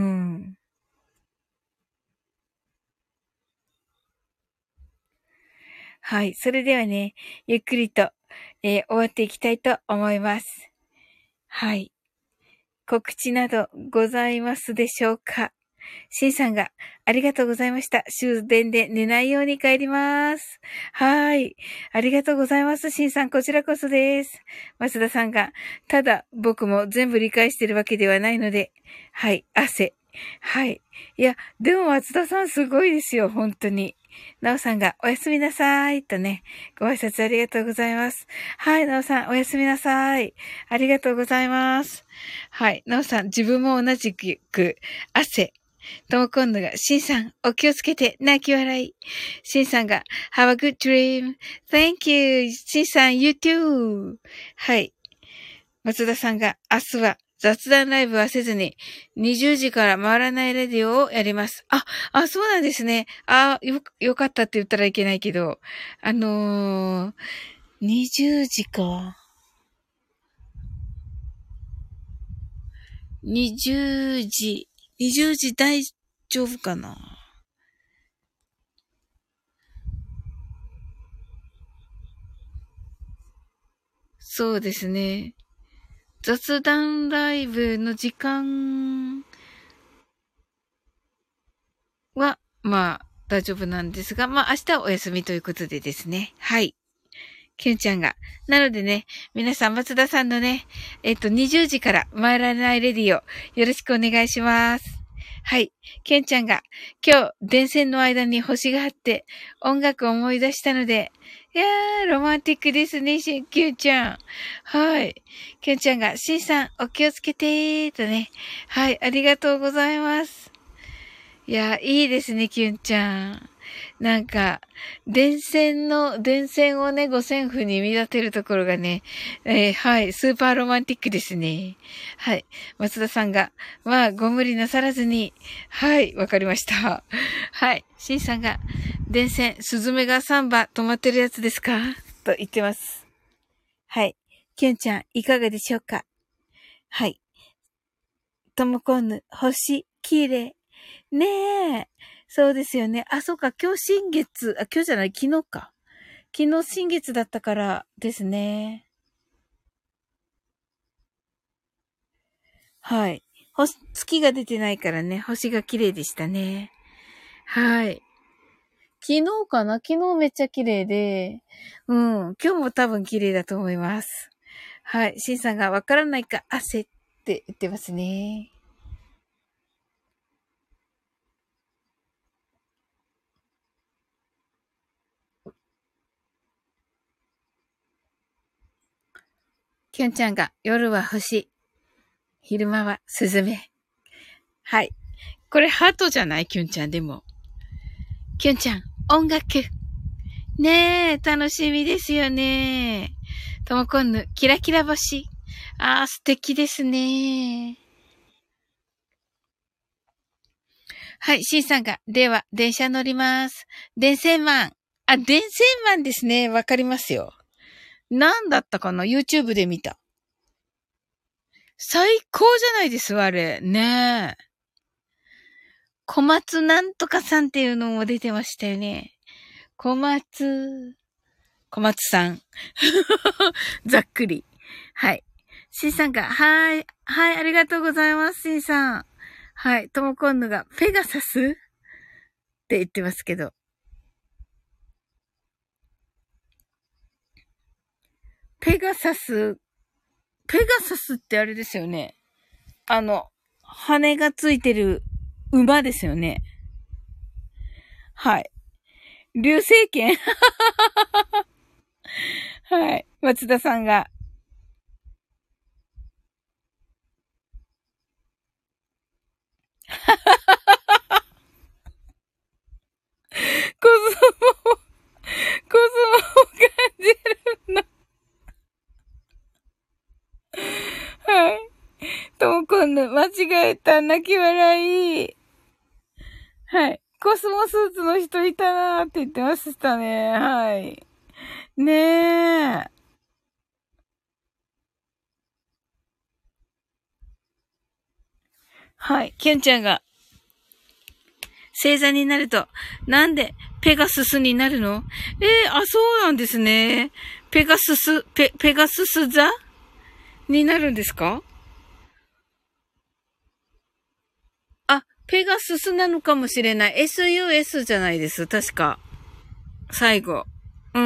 はい。それではね、ゆっくりと、えー、終わっていきたいと思います。はい。告知などございますでしょうか？シンさんが、ありがとうございました。終電で寝ないように帰ります。はい。ありがとうございます。シンさん、こちらこそです。松田さんが、ただ、僕も全部理解してるわけではないので、はい、汗。はい。いや、でも松田さんすごいですよ、本当に。なおさんが、おやすみなさい。とね、ご挨拶ありがとうございます。はい、なおさん、おやすみなさい。ありがとうございます。はい、なおさん、自分も同じく、汗。とも今度が、しんさん、お気をつけて、泣き笑い。しんさんが、have a good dream. Thank you. しんさん、you too. はい。松田さんが、明日は雑談ライブはせずに、にじゅうじから回らないレディオをやります。あ、あ、そうなんですね。あ、よ、よかったって言ったらいけないけど、あのー、にじゅうじか。にじゅうじ。にじゅうじ大丈夫かな？そうですね。雑談ライブの時間は、まあ、大丈夫なんですが、まあ、明日はお休みということでですね。はい。キュンちゃんが。なのでね、皆さん、松田さんのね、えっと、にじゅうじから、参らないレディをよろしくお願いします。 はい。ケンちゃんが、今日、電線の間に星があって、音楽を思い出したので、いやー、ロマンティックですね、しん、ケンちゃん。はい。ケンちゃんが、シンさん、お気をつけてー、とね。はい、ありがとうございます。いや、いいですね、キュンちゃん。なんか、電線の、電線をね、五線譜に見立てるところがね、えーはい、スーパーロマンティックですね。はい。松田さんが、まあ、ご無理なさらずに、はい、わかりました。はい。シンさんが、電線、スズメがさん羽止まってるやつですかと言ってます。はい。キュンちゃん、いかがでしょうか？はい。ともこんぬ、星、綺麗。ねえ。そうですよね。あ、そうか。今日新月、あ、今日じゃない、昨日か。昨日新月だったからですね。はい。星、月が出てないからね、星が綺麗でしたね。はい。昨日かな？昨日めっちゃ綺麗で、うん。今日も多分綺麗だと思います。はい。シンさんがわからないか、汗って言ってますね。キュンちゃんが夜は星、昼間はスズメ。はい。これハートじゃない？キュンちゃんでも。キュンちゃん、音楽。ねえ、楽しみですよね。ともこんぬ、キラキラ星。ああ、素敵ですね。はい、シンさんが、では、電車乗ります。電線マン。あ、電線マンですね。わかりますよ。なんだったかな？ YouTube で見た。最高じゃないですわ、あれ。ねえ。小松なんとかさんっていうのも出てましたよね。小松、小松さん。ざっくり。はい。シンさんが、はい、はい、ありがとうございます、シンさん。はい、ともこんぬが、ペガサスって言ってますけど。ペガサス、ペガサスってあれですよね。あの、羽がついてる馬ですよね。はい。流星剣はい。松田さんが、コスモ、コスモを感じるの。はい。ともこんぬ、間違えた、泣き笑い。はい。コスモスーツの人いたなーって言ってましたね。はい。ねえ。はい。キュンちゃんが、星座になると、なんでペガススになるの？ええー、あ、そうなんですね。ペガスス、ペ、ペガスス座になるんですか？あ、ペガススなのかもしれない。エスユーエス じゃないです。確か。最後。うん。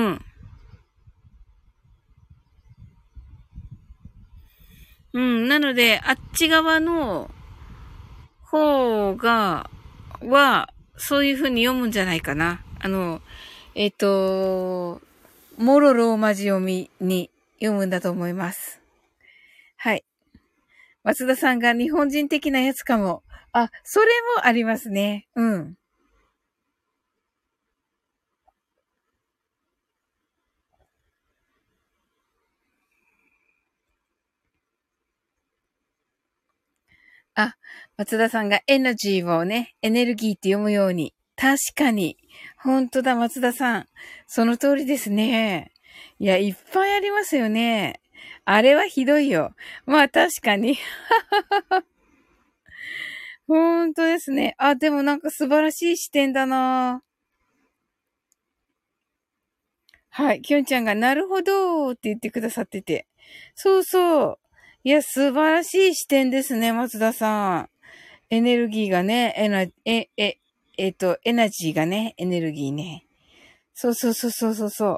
うん。なので、あっち側の方が、は、そういう風に読むんじゃないかな。あの、えっと、モロローマ字読みに読むんだと思います。はい。松田さんが日本人的なやつかも。あ、それもありますね。うん。あ、松田さんがエナジーをね、エネルギーって読むように。確かに。本当だ、松田さん。その通りですね。いや、いっぱいありますよね。あれはひどいよ。まあ確かに。本当ですね。あ、でもなんか素晴らしい視点だな。はい。きょんちゃんがなるほどって言ってくださってて。そうそう。いや、素晴らしい視点ですね、松田さん。エネルギーがね、エナ、え、え、えっと、エナジーがね、エネルギーね。そうそうそうそうそうそう。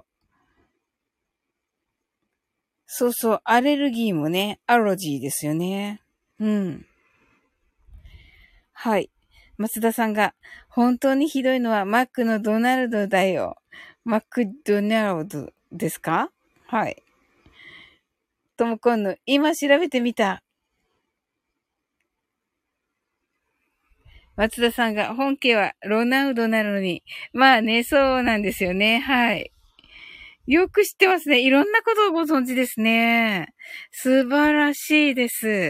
そうそう、アレルギーもね、アロジーですよね。うん。はい。 松田さんが、本当にひどいのはマックのドナルドだよ。マックドナルドですか？はい。ともこんぬ、今調べてみた。松田さんが、本家はロナウドなのに。まあね、そうなんですよね。はい。よく知ってますね。いろんなことをご存知ですね。素晴らしいです。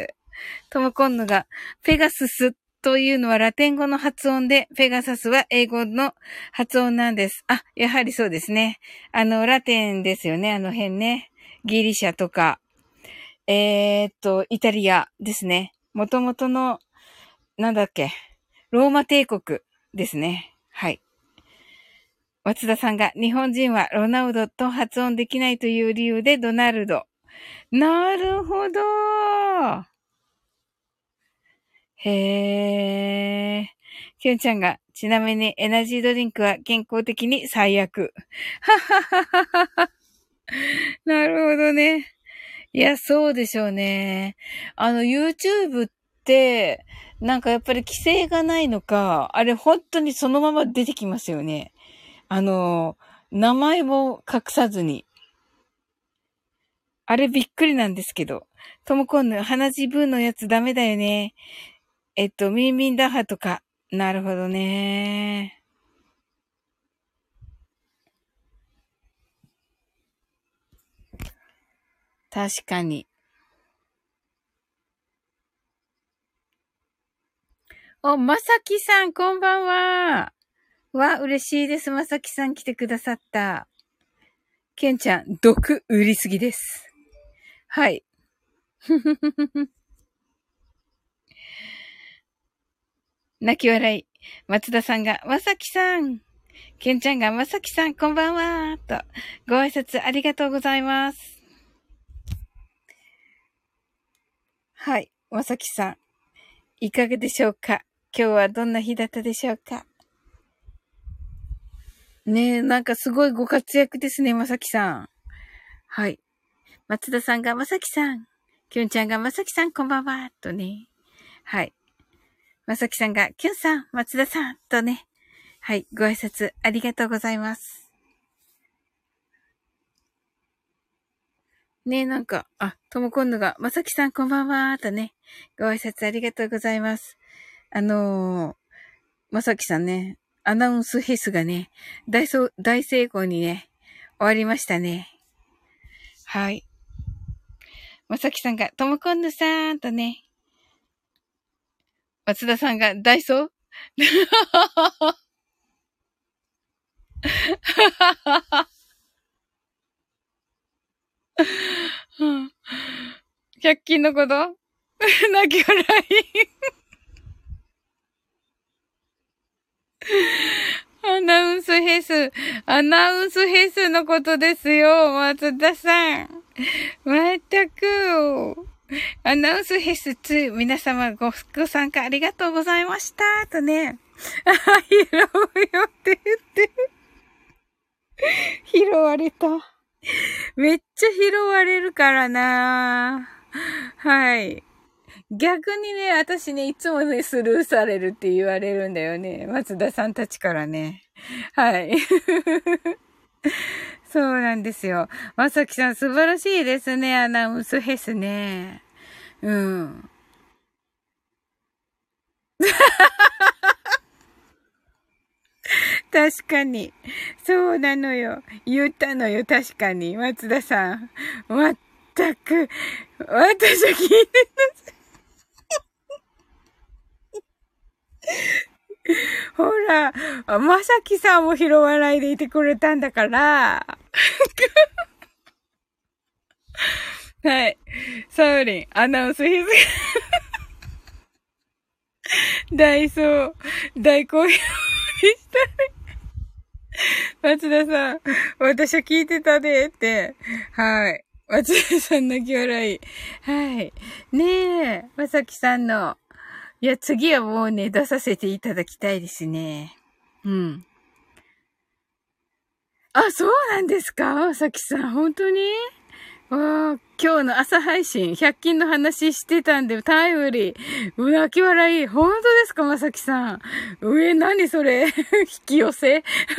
ともこんぬが、ペガススというのはラテン語の発音で、ペガサスは英語の発音なんです。あ、やはりそうですね。あの、ラテンですよね。あの辺ね。ギリシャとか、えー、っと、イタリアですね。もともとの、なんだっけ、ローマ帝国ですね。はい。松田さんが、日本人はロナウドと発音できないという理由でドナルド。なるほど。へー。きゅんちゃんが、ちなみにエナジードリンクは健康的に最悪。ははははは。なるほどね。いや、そうでしょうね。あの、YouTube って、なんかやっぱり規制がないのか、あれ本当にそのまま出てきますよね。あの、名前も隠さずに。あれびっくりなんですけど。ともこんぬ、鼻血ブーのやつダメだよね。えっと、ミンミンダハとか。なるほどね。確かに。お、まさきさん、こんばんは。わ、嬉しいです。まさきさん来てくださった。けんちゃん、毒売りすぎです。はい。泣き笑い。松田さんが、まさきさん。けんちゃんが、まさきさん、こんばんは。と、ご挨拶ありがとうございます。はい。まさきさん、いかがでしょうか？今日はどんな日だったでしょうか？ねえ、なんかすごいご活躍ですね、まさきさん。はい。松田さんがまさきさん。きゅんちゃんがまさきさん、こんばんは。とね。はい。まさきさんが、きゅんさん、松田さん。とね。はい。ご挨拶ありがとうございます。ねえ、なんか、あ、ともこんぬが、まさきさん、こんばんは。とね。ご挨拶ありがとうございます。あのー、まさきさんね、アナウンスフェスがね、大そ大成功にね、終わりましたね。はい。まさきさんが、ともこんぬさんとね、松田さんが、ダイソー百均のこと泣き笑いアナウンスフェス、アナウンスフェスのことですよ、松田さん。まったく。アナウンスフェスに皆様ご、ご参加ありがとうございました。とね。あ、拾うよって言って。拾われた。めっちゃ拾われるからな。はい。逆にね、私ね、いつもね、スルーされるって言われるんだよね。松田さんたちからね。はい。そうなんですよ。まさきさん素晴らしいですね。アナウンスフェスね。うん。確かに。そうなのよ。言ったのよ。確かに。松田さん。まったく。私は聞いてほら、まさきさんも拾わないでいてくれたんだから。はい。サウリン、アナウンスヒズ大そう、大好評でしたね。松田さん、私は聞いてたでって。はい。松田さん泣き笑い。はい。ねえ、まさきさんの。いや、次はもうね、出させていただきたいですね。うん。あ、そうなんですかまさきさん、本当にわあ、今日の朝配信、ひゃく均の話してたんで、タイムリー。う泣き笑い。本当ですか、まさきさん。上、何それ引き寄せ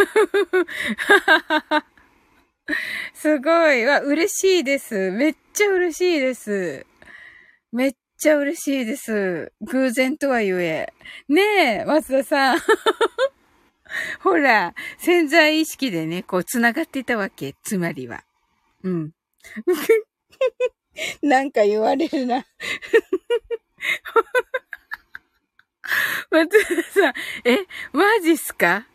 すごい。わ、嬉しいです。めっちゃ嬉しいです。めっちゃ嬉しいです。偶然とはゆえ。ねえ、松田さん。ほら、潜在意識でね、こう、繋がっていたわけ。つまりは。うん。なんか言われるな。松田さん、え、マジっすか？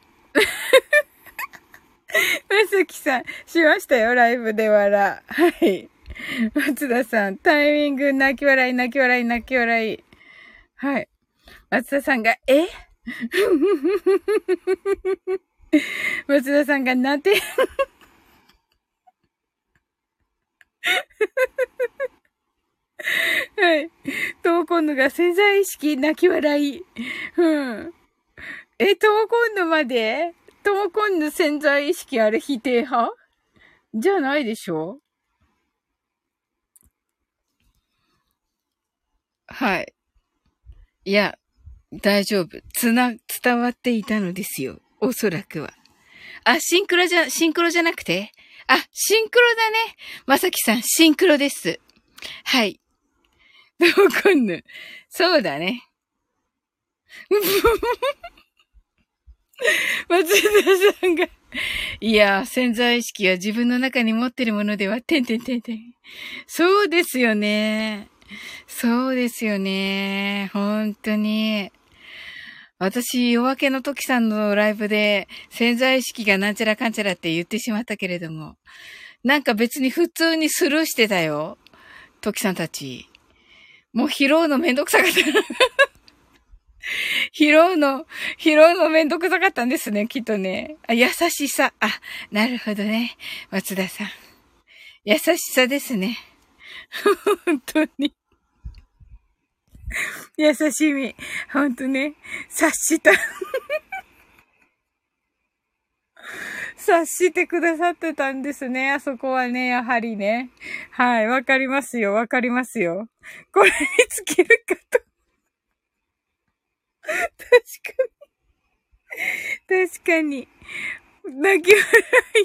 まさきさん、しましたよ、ライブで笑。はい。松田さん、タイミング、泣き笑い、泣き笑い、泣き笑い。はい。松田さんが、え松田さんが、なんてはい。トーコンヌが潜在意識、泣き笑い。うん。え、トーコンヌまでトーコンヌ潜在意識あれ否定派じゃないでしょ？はい。いや、大丈夫。つな、伝わっていたのですよ。おそらくは。あ、シンクロじゃ、シンクロじゃなくてあ、シンクロだね。まさきさん、シンクロです。はい。わかんない。そうだね。松田さんが。いや、潜在意識は自分の中に持ってるものでは、てんてんてんてん。そうですよね。そうですよね。本当に。私、夜明けの時さんのライブで潜在意識がなんちゃらかんちゃらって言ってしまったけれども、なんか別に普通にスルーしてたよ。時さんたち。もう拾うのめんどくさかった。拾うの、拾うのめんどくさかったんですね、きっとね。あ、優しさ。あ、なるほどね。松田さん。優しさですね。本当に。優しみ。本当ね。察した。察してくださってたんですね。あそこはね、やはりね。はい、わかりますよ、わかりますよ。これにつけるかと。確かに。確かに。泣き笑い。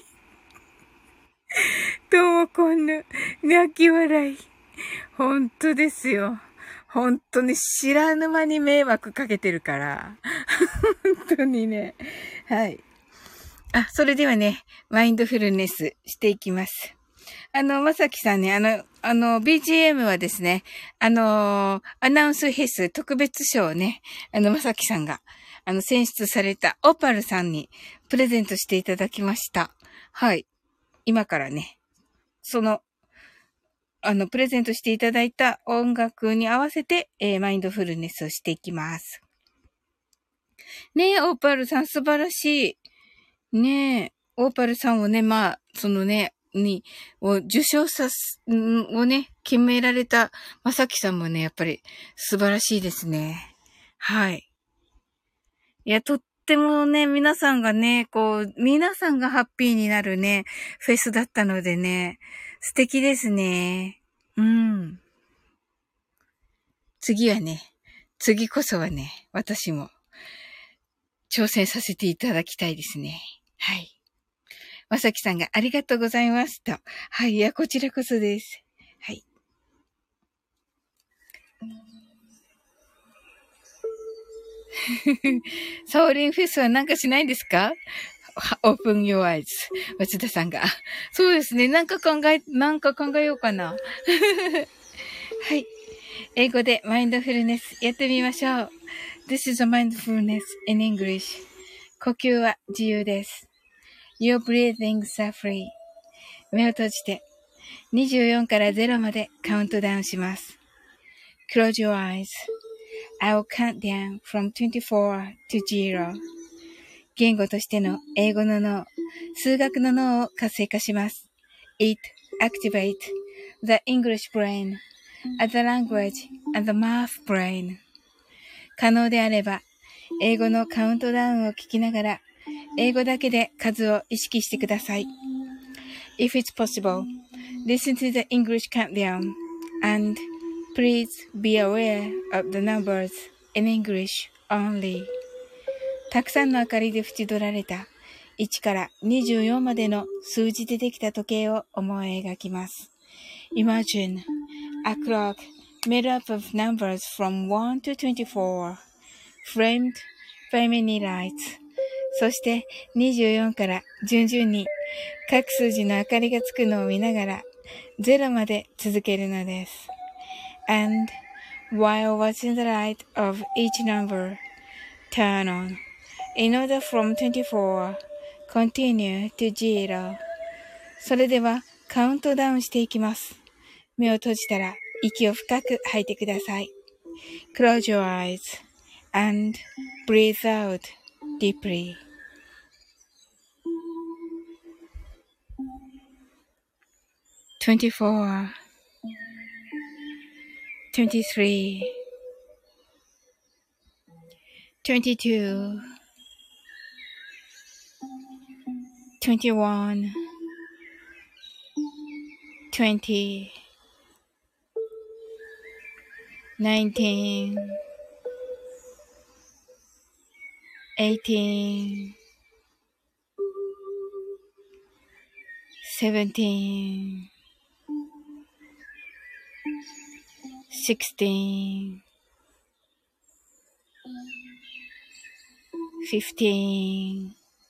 ともこんぬ。泣き笑い。本当ですよ。本当に知らぬ間に迷惑かけてるから。本当にね。はい。あ、それではね、マインドフルネスしていきます。あの、まさきさんね、あの、あの、ビージーエム はですね、あの、アナウンスフェス特別賞をね、あの、まさきさんが、あの、選出されたオパルさんにプレゼントしていただきました。はい。今からね、その、あの、プレゼントしていただいた音楽に合わせて、えー、マインドフルネスをしていきます。ねえ、オーパルさん素晴らしい。ねえ、オーパルさんをね、まあ、そのね、に、を受賞さす、をね、決められたまさきさんもね、やっぱり素晴らしいですね。はい。いや、とってもね、皆さんがね、こう、皆さんがハッピーになるね、フェスだったのでね、素敵ですね。うん。次はね、次こそはね、私も挑戦させていただきたいですね。はい。まさきさんがありがとうございますと。はい。いや、こちらこそです。はい。サオリンフェスはなんかしないんですか？オープン your eyes。松田さんが。そうですね。なんか考え、なんか考えようかな。はい。英語でマインドフルネスやってみましょう。This is a mindfulness in English. 呼吸は自由です。Your breathings are free. 目を閉じてにじゅうよんからゼロまでカウントダウンします。Close your eyes.I will count down from twenty-four to zero. 言語としての英語の脳、数学の脳を活性化します。It activates the English brain, the language, and the math brain. 可能であれば、英語のカウントダウンを聞きながら、英語だけで数を意識してください。 If it's possible, listen to the English countdown and please be aware of the numbers in English only. たくさんの明かりで縁取られたいちからにじゅうよんまでの数字でできた時計を思い描きます。Imagine a clock made up of numbers from one to twenty-four, framed by many lights. そしてにじゅうよんから順々に各数字の明かりがつくのを見ながらゼロまで続けるのです。And while watching the light of each number turn on, in order from twenty-four, continue to zero. それではカウントダウンしていきます。目を閉じたら息を深く吐いてください。Close your eyes and breathe out deeply. twenty-four, twenty-three, twenty-two, twenty-one, twenty, nineteen, eighteen, seventeen, sixteen, fifteen,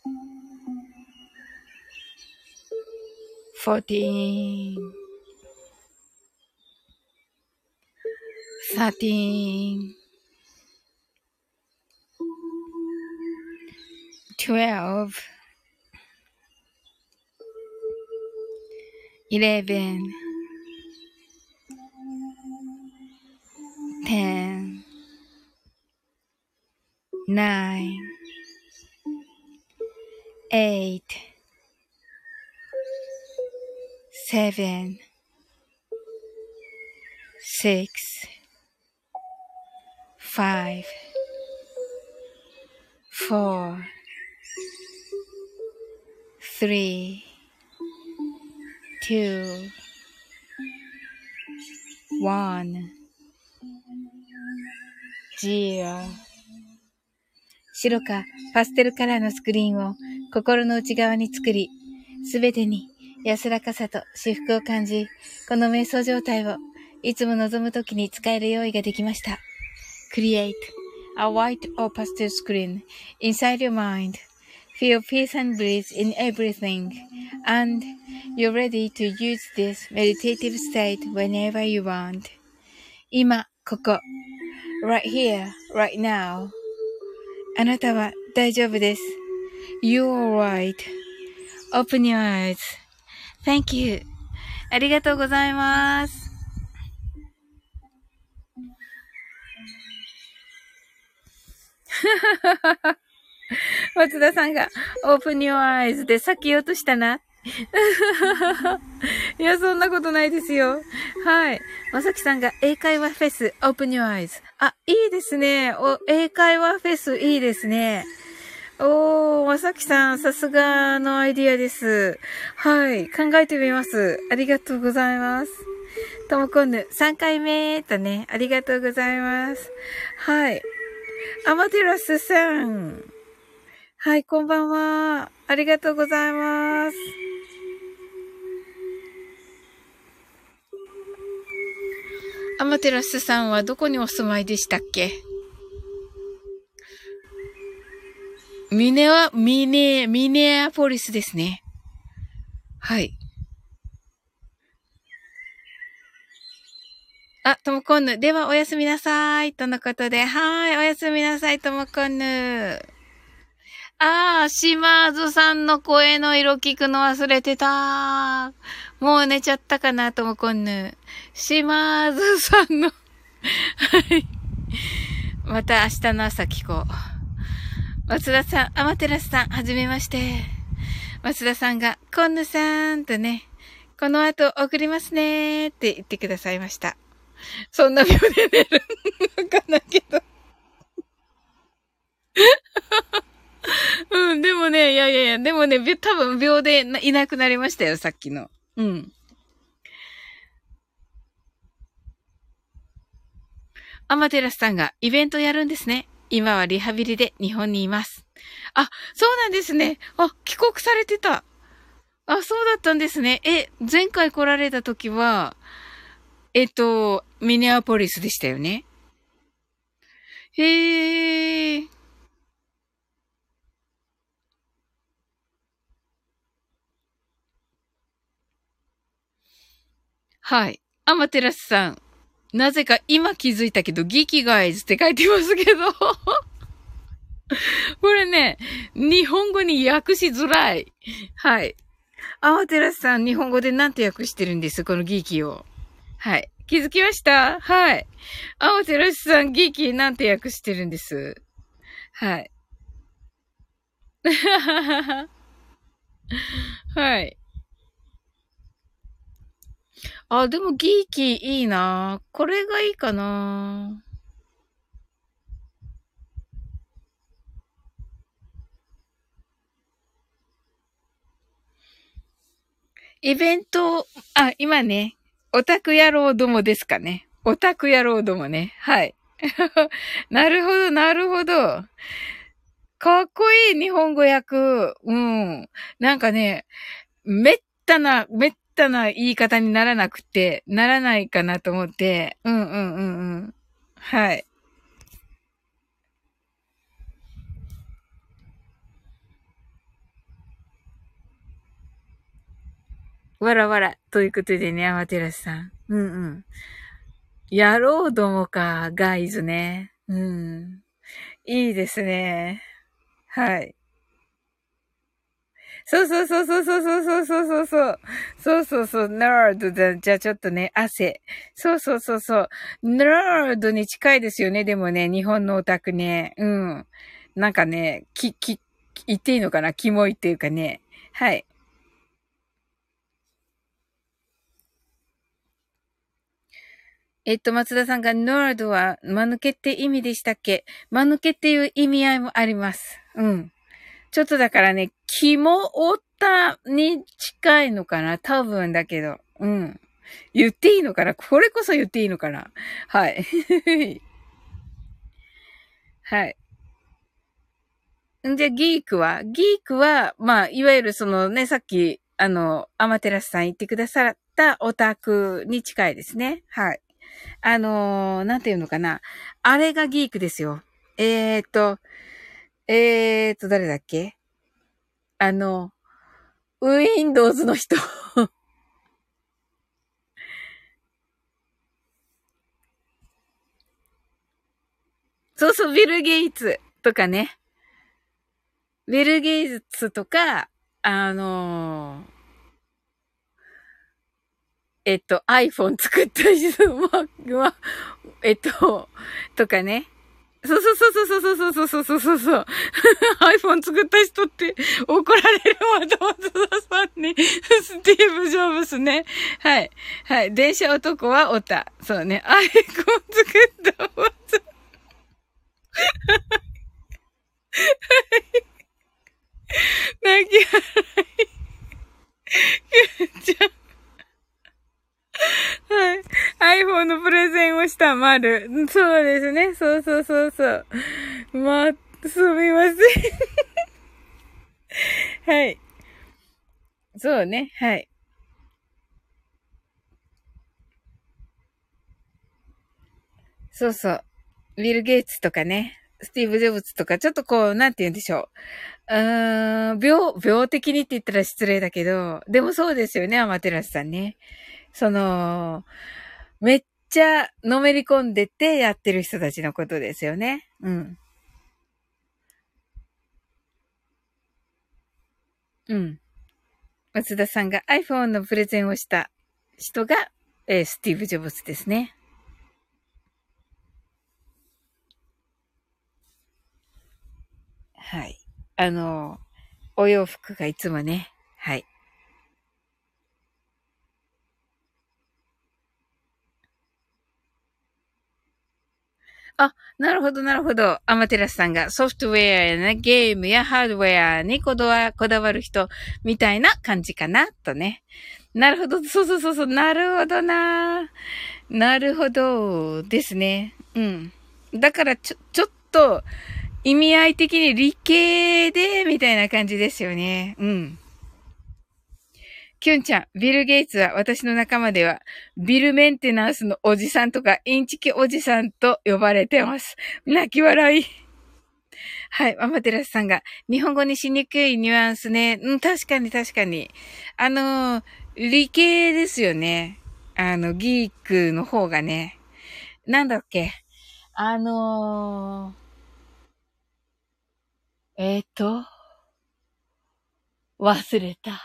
fourteen, thirteen, twelve, eleven, ten, nine, eight, seven, six, five, four, three, two, one, zero。白かパステルカラーのスクリーンを心の内側に作り、すべてに安らかさと至福を感じ、この瞑想状態をいつも望むときに使える用意ができました。Create a white or pastel screen inside your mind. Feel peace and bliss in everything. And you're ready to use this meditative state whenever you want. 今、ここ。Right here, right now. あなたは大丈夫です。You're alright.Open your eyes. Thank you. ありがとうございます。松田さんが Open your eyes でさっき言おうとしたな。いや、そんなことないですよ。はい。まさきさんが英会話フェス Open your eyes。あ、いいですね。お、英会話フェスいいですね。おー、まさきさん、さすがのアイディアです。はい。考えてみます。ありがとうございます。ともこんぬ、さんかいめとね、ありがとうございます。はい。アマテラスさん。はい、こんばんは。ありがとうございます。アマテラスさんはどこにお住まいでしたっけ？ミネは、ミネ、ミネアポリスですね。はい。あ、ともこんぬ。ではおやすみなさい。とのことで。はい、おやすみなさい、ともこんぬ。あー、島津さんの声の色聞くの忘れてた。もう寝ちゃったかな、ともこんぬ。島津さんの。はい。また明日の朝聞こう。松田さん、アマテラスさん、はじめまして。松田さんが、こんぬさんとね、この後送りますねって言ってくださいました。そんな秒で寝るのかなけど。うん、でもね、いやいやいね。でもね、び多分秒でいなくなりましたよ、さっきの。うん。アマテラスさんがイベントやるんですね。今はリハビリで日本にいます。あ、そうなんですね。あ、帰国されてた。あ、そうだったんですね。え、前回来られた時は、えっと、ミネアポリスでしたよね。へー。はい。アマテラスさん。なぜか今気づいたけど、ギキガイズって書いてますけど。これね、日本語に訳しづらい。はい。アマテラスさん、日本語で何て訳してるんですこのギキを。はい。気づきましたはい。アマテラスさん、ギキなんて訳してるんです。はい。はい。あ、でもギーキーいいなこれがいいかなイベント、あ、今ね、オタク野郎どもですかね。オタク野郎どもね。はい。なるほど、なるほど。かっこいい日本語訳。うん。なんかね、めったな、めったな言い方にならなくて、ならないかなと思って。うんうんうんうん。はい。わらわら。ということでね、アマテラスさん。うんうん。野郎どもか、ガイズね。うん。いいですね。はい。そうそうそうそうそうそうそうそうそう。そうそうそう、ナードだ。じゃあちょっとね、汗。そうそうそうそう。ナードに近いですよね。でもね、日本のオタクね。うん。なんかね、き、き、言っていいのかなキモいっていうかね。はい。えっと、松田さんが、ナードは、間抜けって意味でしたっけ？間抜けっていう意味合いもあります。うん。ちょっとだからね、キモオタに近いのかな多分だけど。うん。言っていいのかなこれこそ言っていいのかなはい。はい。んじゃ、ギークはギークは、まあ、いわゆるそのね、さっき、あの、アマテラスさん言ってくださったオタクに近いですね。はい。あのー、なんていうのかな。あれがギークですよ。えーっと、えーっと、誰だっけあの、Windows の人。そうそう、ビル・ゲイツとかね。ビル・ゲイツとか、あのーえっと、iPhone 作った人は、えっと、とかね。そうそうそうそうそうそうそうそうそうそう。iPhone 作った人って怒られるわ、松田さんに。スティーブ・ジョブスね。はい。はい。電車男はオタ。そうね。iPhone 作ったわ。泣き笑い。じゃはい。iPhone のプレゼンをした丸。そうですね。そうそうそうそう。まあ、すみません。はい。そうね。はい。そうそう。ビル・ゲイツとかね。スティーブ・ジョブズとか、ちょっとこう、なんて言うんでしょう。うーん、病、病的にって言ったら失礼だけど、でもそうですよね、アマテラスさんね。その、めっちゃのめり込んでてやってる人たちのことですよね。うん。うん。松田さんが iPhone のプレゼンをした人が、えースティーブ・ジョブズですね。はい。あの、お洋服がいつもね、はい。 あ、なるほど、なるほど。アマテラスさんがソフトウェアやね、ゲームやハードウェアにこだわこだわる人みたいな感じかな、とね。なるほど、そうそうそうそう、なるほどな。なるほど、ですね。うん。だからちょ、ちょっと、意味合い的に理系で、みたいな感じですよね。うん。キュンちゃん、ビル・ゲイツは私の仲間では、ビルメンテナンスのおじさんとか、インチキおじさんと呼ばれてます。泣き笑い。はい、アマテラスさんが、日本語にしにくいニュアンスね。うん、確かに確かに。あの、理系ですよね。あの、ギークの方がね。なんだっけ。あのー、えっ、ー、と、忘れた。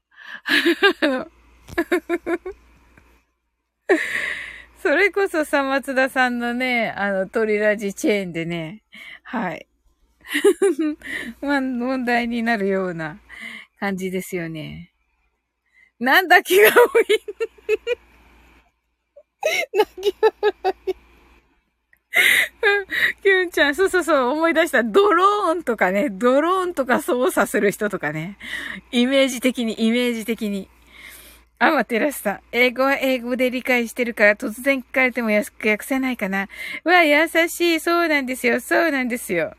それこそさ、松田さんのね、あの、トリラジチェーンでね、はい。まあ、問題になるような感じですよね。なんだ気が多い。泣き笑い。キュンちゃん、そうそうそう、思い出した。ドローンとかね、ドローンとか操作する人とかね。イメージ的に、イメージ的に。アマテラスさん。英語は英語で理解してるから突然聞かれても訳せないかな。うわ、優しい。そうなんですよ。そうなんですよ。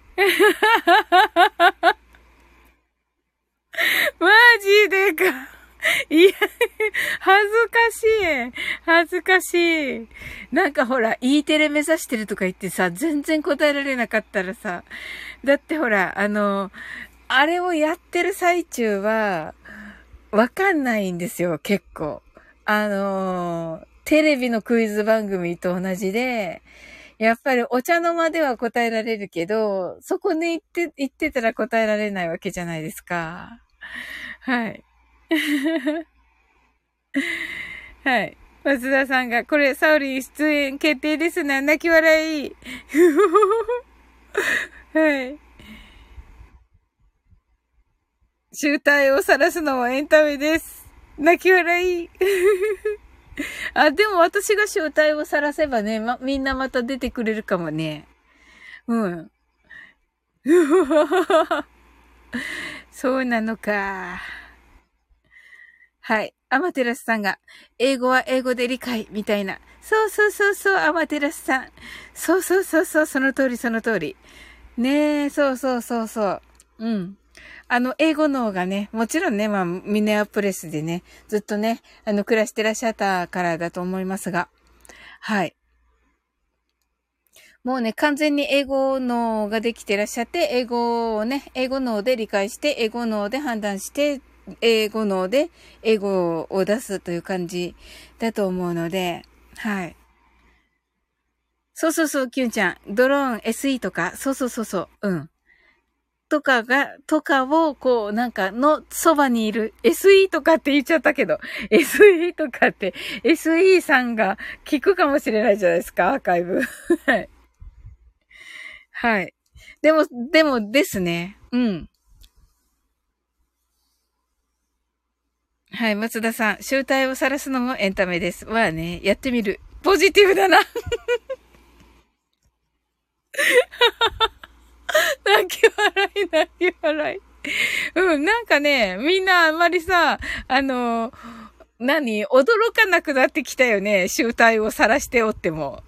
マジでか。いや、恥ずかしい。恥ずかしい。なんかほら、E テレ目指してるとか言ってさ、全然答えられなかったらさ、だってほら、あの、あれをやってる最中は、わかんないんですよ、結構。あの、テレビのクイズ番組と同じで、やっぱりお茶の間では答えられるけど、そこに行って、行ってたら答えられないわけじゃないですか。はい。はい。松田さんが、これ、サウリン出演決定ですな。泣き笑い。はい。集体を晒すのもエンタメです。泣き笑い。あ、でも私が集体を晒せばね、ま、みんなまた出てくれるかもね。うん。そうなのか。はい。アマテラスさんが、英語は英語で理解、みたいな。そうそうそうそう、アマテラスさん。そうそうそうそう、その通りその通り。ねえ、そうそうそうそう。うん。あの、英語の方がね、もちろんね、まあ、ミネアプレスでね、ずっとね、あの、暮らしてらっしゃったからだと思いますが。はい。もうね、完全に英語脳ができてらっしゃって、英語をね、英語脳で理解して、英語脳で判断して、英語脳で英語を出すという感じだと思うので、はい。そうそうそう、キュンちゃん。ドローン エスイー とか、そうそうそうそう、うん。とかが、とかを、こう、なんか、の、そばにいる、エスイー とかって言っちゃったけど、エスイー とかって、エスイー さんが聞くかもしれないじゃないですか、アーカイブ。はい。はい。でも、でもですね。うん。はい、松田さん。集体を晒すのもエンタメです。まあね、やってみる。ポジティブだな。泣き笑い、泣き笑い。うん、なんかね、みんなあんまりさ、あの、何驚かなくなってきたよね。集体を晒しておっても。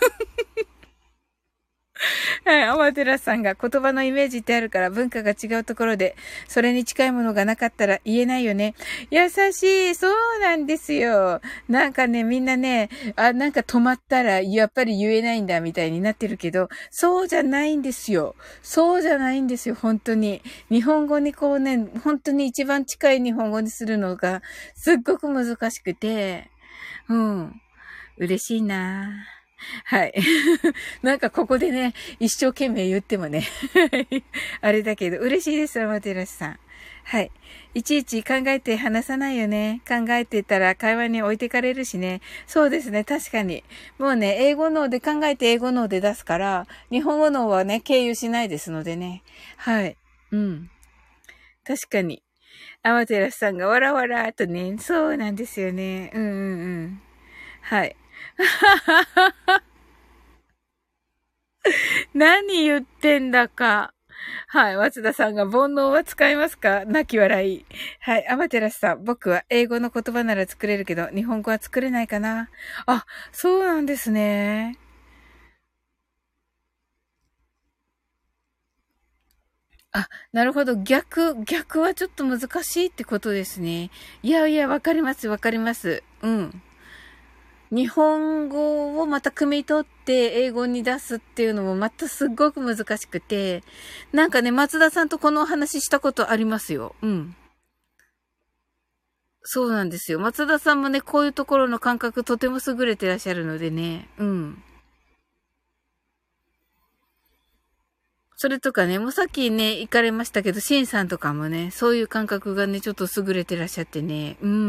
はい、アマテラスさんが言葉のイメージってあるから文化が違うところで、それに近いものがなかったら言えないよね。優しい、そうなんですよ。なんかね、みんなね、あ、なんか止まったらやっぱり言えないんだみたいになってるけど、そうじゃないんですよ。そうじゃないんですよ、本当に。日本語にこうね、本当に一番近い日本語にするのがすっごく難しくて、うん。嬉しいなぁ。はい。なんかここでね、一生懸命言ってもね、あれだけど、嬉しいです、マテラスさん。はい。いちいち考えて話さないよね。考えてたら会話に置いてかれるしね。そうですね、確かに。もうね、英語脳で考えて英語脳で出すから、日本語脳はね、経由しないですのでね。はい。うん。確かに。アマテラスさんがわらわらとね、そうなんですよね。うんうんうん。はい。 何言ってんだか。はい。松田さんが煩悩は使いますか？泣き笑い。はい。アマテラスさん、僕は英語の言葉なら作れるけど、日本語は作れないかな。あ、そうなんですね。あ、なるほど。逆、逆はちょっと難しいってことですね。いやいや、わかります、わかります。うん。日本語をまた汲み取って英語に出すっていうのもまたすっごく難しくて、なんかね、松田さんとこのお話ししたことありますよ。うん。そうなんですよ。松田さんもね、こういうところの感覚とても優れてらっしゃるのでね。うん。それとかね、もうさっきね、行かれましたけど、シンさんとかもね、そういう感覚がね、ちょっと優れてらっしゃってね。うん。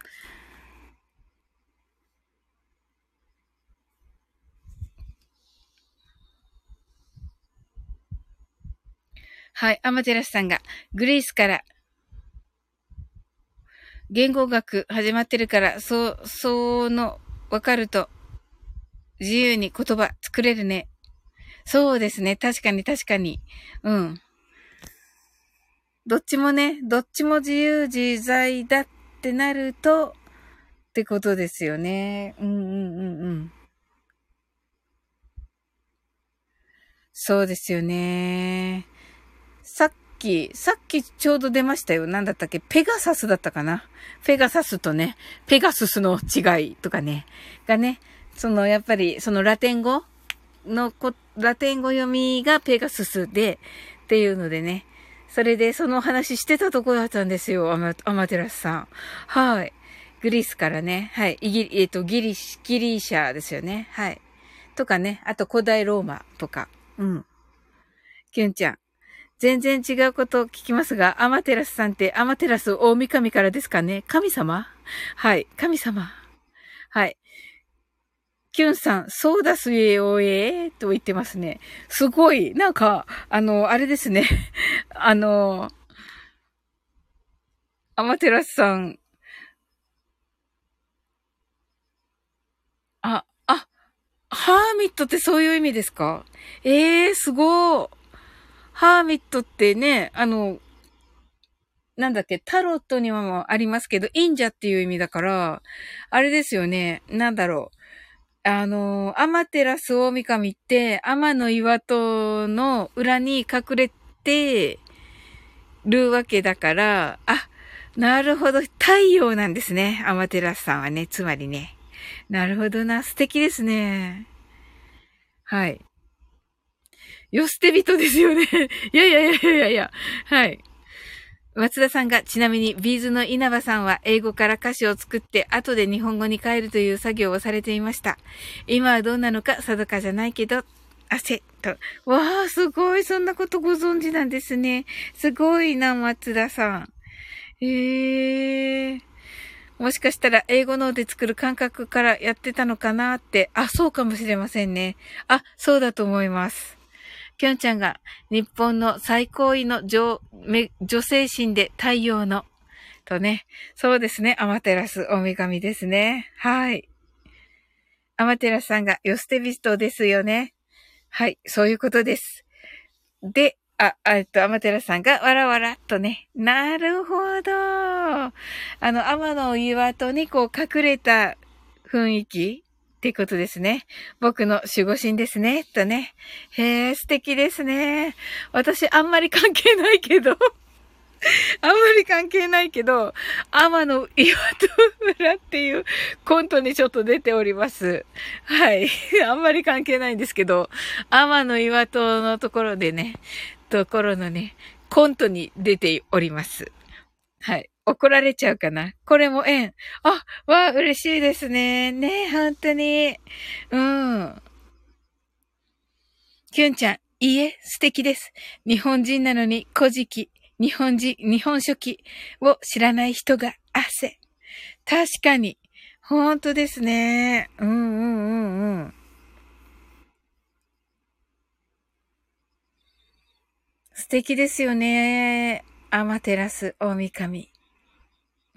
はい。アマテラスさんが、グリースから言語学始まってるから、そう、その、わかると自由に言葉作れるね。そうですね。確かに確かに。うん。どっちもね、どっちも自由自在だってなると、ってことですよね。うんうんうんうん。そうですよね。さっき、さっきちょうど出ましたよ。なんだったっけ？ペガサスだったかな？ペガサスとね、ペガススの違いとかね、がね、そのやっぱりそのラテン語のこ、ラテン語読みがペガススで、っていうのでね、それでその話してたとこだったんですよ、アマ、アマテラスさん。はい。グリースからね、はい。イギリ、えっ、と、ギリシ、ギリシャですよね。はい。とかね、あと古代ローマとか。うん。キュンちゃん。全然違うことを聞きますが、アマテラスさんってアマテラス大神からですかね？神様？はい。神様。はい。キュンさん、そうだすえおえと言ってますね。すごい。なんか、あの、あれですね。あの、アマテラスさん、あ、あ、ハーミットってそういう意味ですか？ええー、すごい。ハーミットってね、あの、なんだっけ、タロットにもありますけど、忍者っていう意味だから、あれですよね。なんだろう。あの、アマテラス大神って、天の岩戸の裏に隠れてるわけだから、あ、なるほど。太陽なんですね。アマテラスさんはね。つまりね。なるほどな。素敵ですね。はい。よ捨て人ですよね。いやいやいやいやいや。はい。松田さんが、ちなみに、ビーズの稲葉さんは英語から歌詞を作って、後で日本語に変えるという作業をされていました。今はどうなのか定かじゃないけど、汗と。わあ、すごい。そんなことご存知なんですね。すごいな、松田さん。へえ。もしかしたら英語ので作る感覚からやってたのかなって。あ、そうかもしれませんね。あ、そうだと思います。きょんちゃんが日本の最高位の女、女性神で太陽のとね。そうですね。アマテラス大神ですね。はい。アマテラスさんがヨステビストですよね。はい。そういうことです。で、あ、えっと、アマテラスさんがわらわらっとね。なるほど。あの、天の岩戸にこう隠れた雰囲気ってことですね。僕の守護神ですね。とね。へえ、素敵ですね。私あんまり関係ないけど。あんまり関係ないけど、天の岩戸村っていうコントにちょっと出ております。はい。あんまり関係ないんですけど、天の岩戸のところでね、ところのね、コントに出ております。はい。怒られちゃうかな。これも縁。あ、わあ、嬉しいですね。ね、本当に。うん。きゅんちゃん、いいえ、素敵です。日本人なのに古事記、日本人、日本書紀を知らない人が汗。確かに。本当ですね。うんうんうんうん。素敵ですよね。アマテラス大神。うん。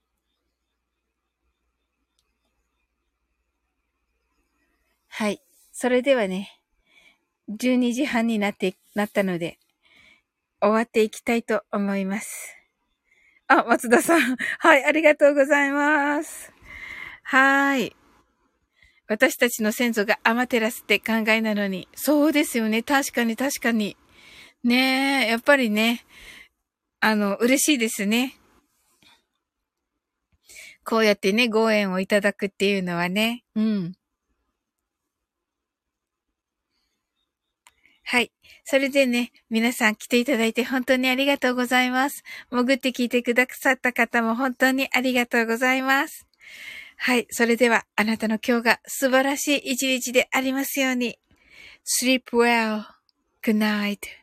はい。 それではね、じゅうにじはんになって、なったので、終わっていきたいと思います。あ、松田さん。はい、ありがとうございます。はーい。私たちの先祖がアマテラスって考えなのに。そうですよね。確かに確かに。ねえ、やっぱりね、あの、嬉しいですね。こうやってね、ご縁をいただくっていうのはね。うん。はい。それでね、皆さん来ていただいて本当にありがとうございます。潜って聞いてくださった方も本当にありがとうございます。はい。それでは、あなたの今日が素晴らしい一日でありますように。Sleep well. Good night.